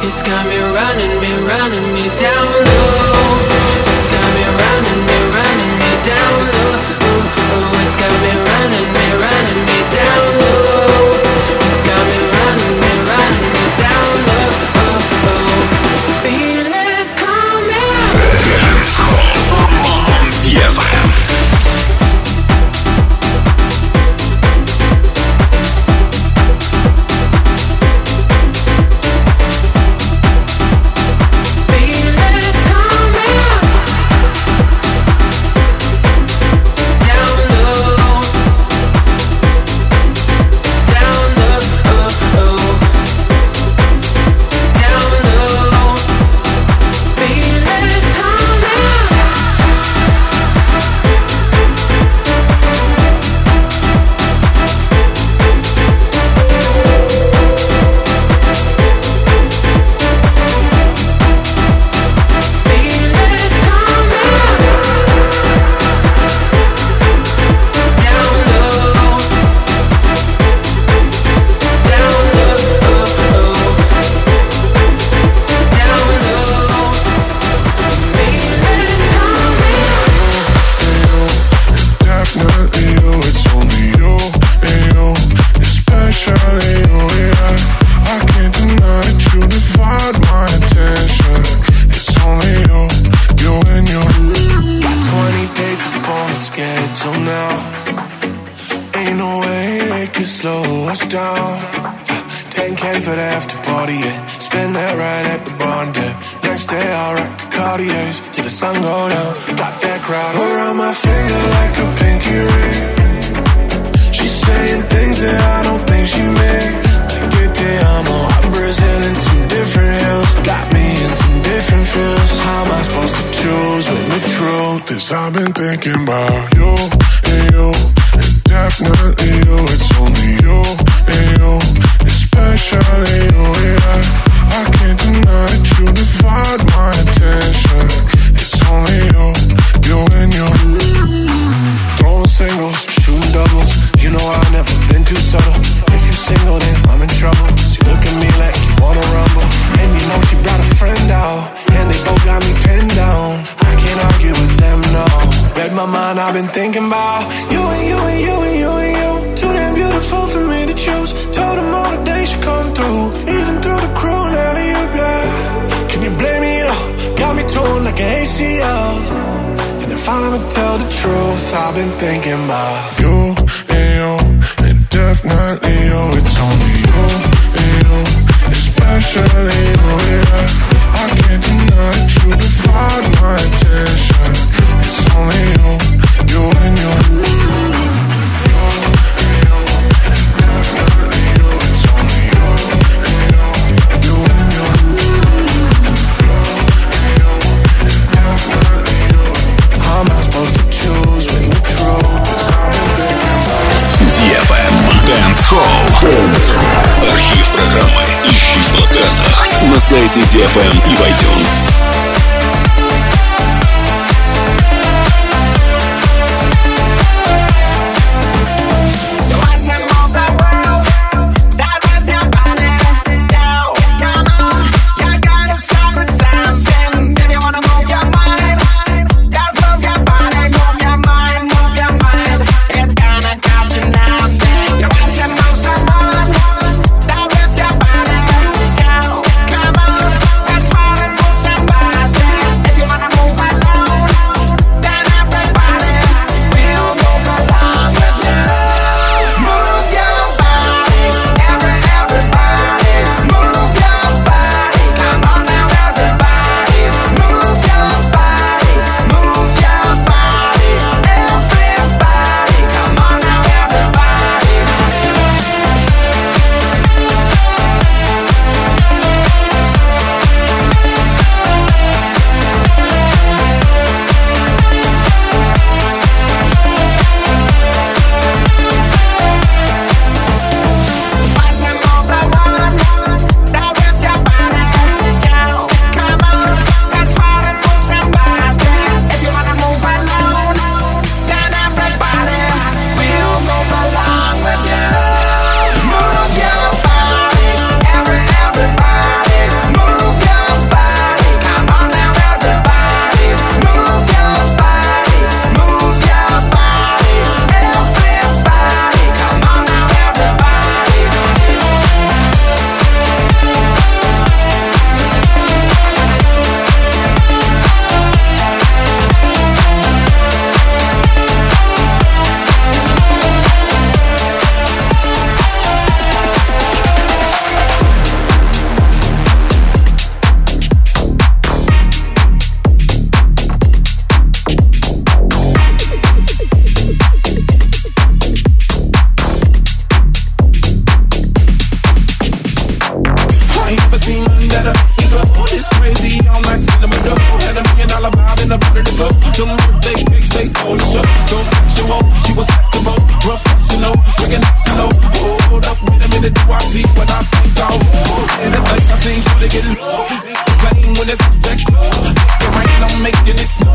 It's got me running, me running me down low. It's got me running, me running me down low. Oh, oh, it's got me running, me running me down low. It's got me running, me running me down low. Oh, oh. Feel it coming. Dance Hall on ди эф эм. I've been thinking about you and you, and definitely you. It's only you and you, especially you. Yeah, I can't deny that you divide my attention. It's only you, you and you. Throwing singles, shooting doubles. You know I've never been too subtle. If you single, then I'm in trouble. She look at me like you wanna rumble, and you know she brought a friend out, and they both got me pinned down. I can't argue with them, no. Read my mind, I've been thinking about you and you and you and you and you. Too damn beautiful for me to choose. Told them all the days should come through, even through the crew and alley-oop, yeah. Can you blame me, though? Got me torn like an A C L. And if I'ma tell the truth, I've been thinking about you and you, and definitely you. It's only you and you, especially you, yeah. I can't deny that you divide my attention. It's only you, you and you. You and you, definitely you. It's only you and you, you and you. You and you, definitely you. How am I supposed to choose when the truth is I've been thinking about ди эф эм Dance Hall. Архив программы ищи в подкастах на сайте ди эф эм и в iTunes. Somebody big big face, holy shit, so sexual. She was flexible, professional, drinking Xano. Hold up, wait a minute, do I see what I think I will? And I think I seen sure to get low. Playing when it's back low. Make it rain, I'm making it snow.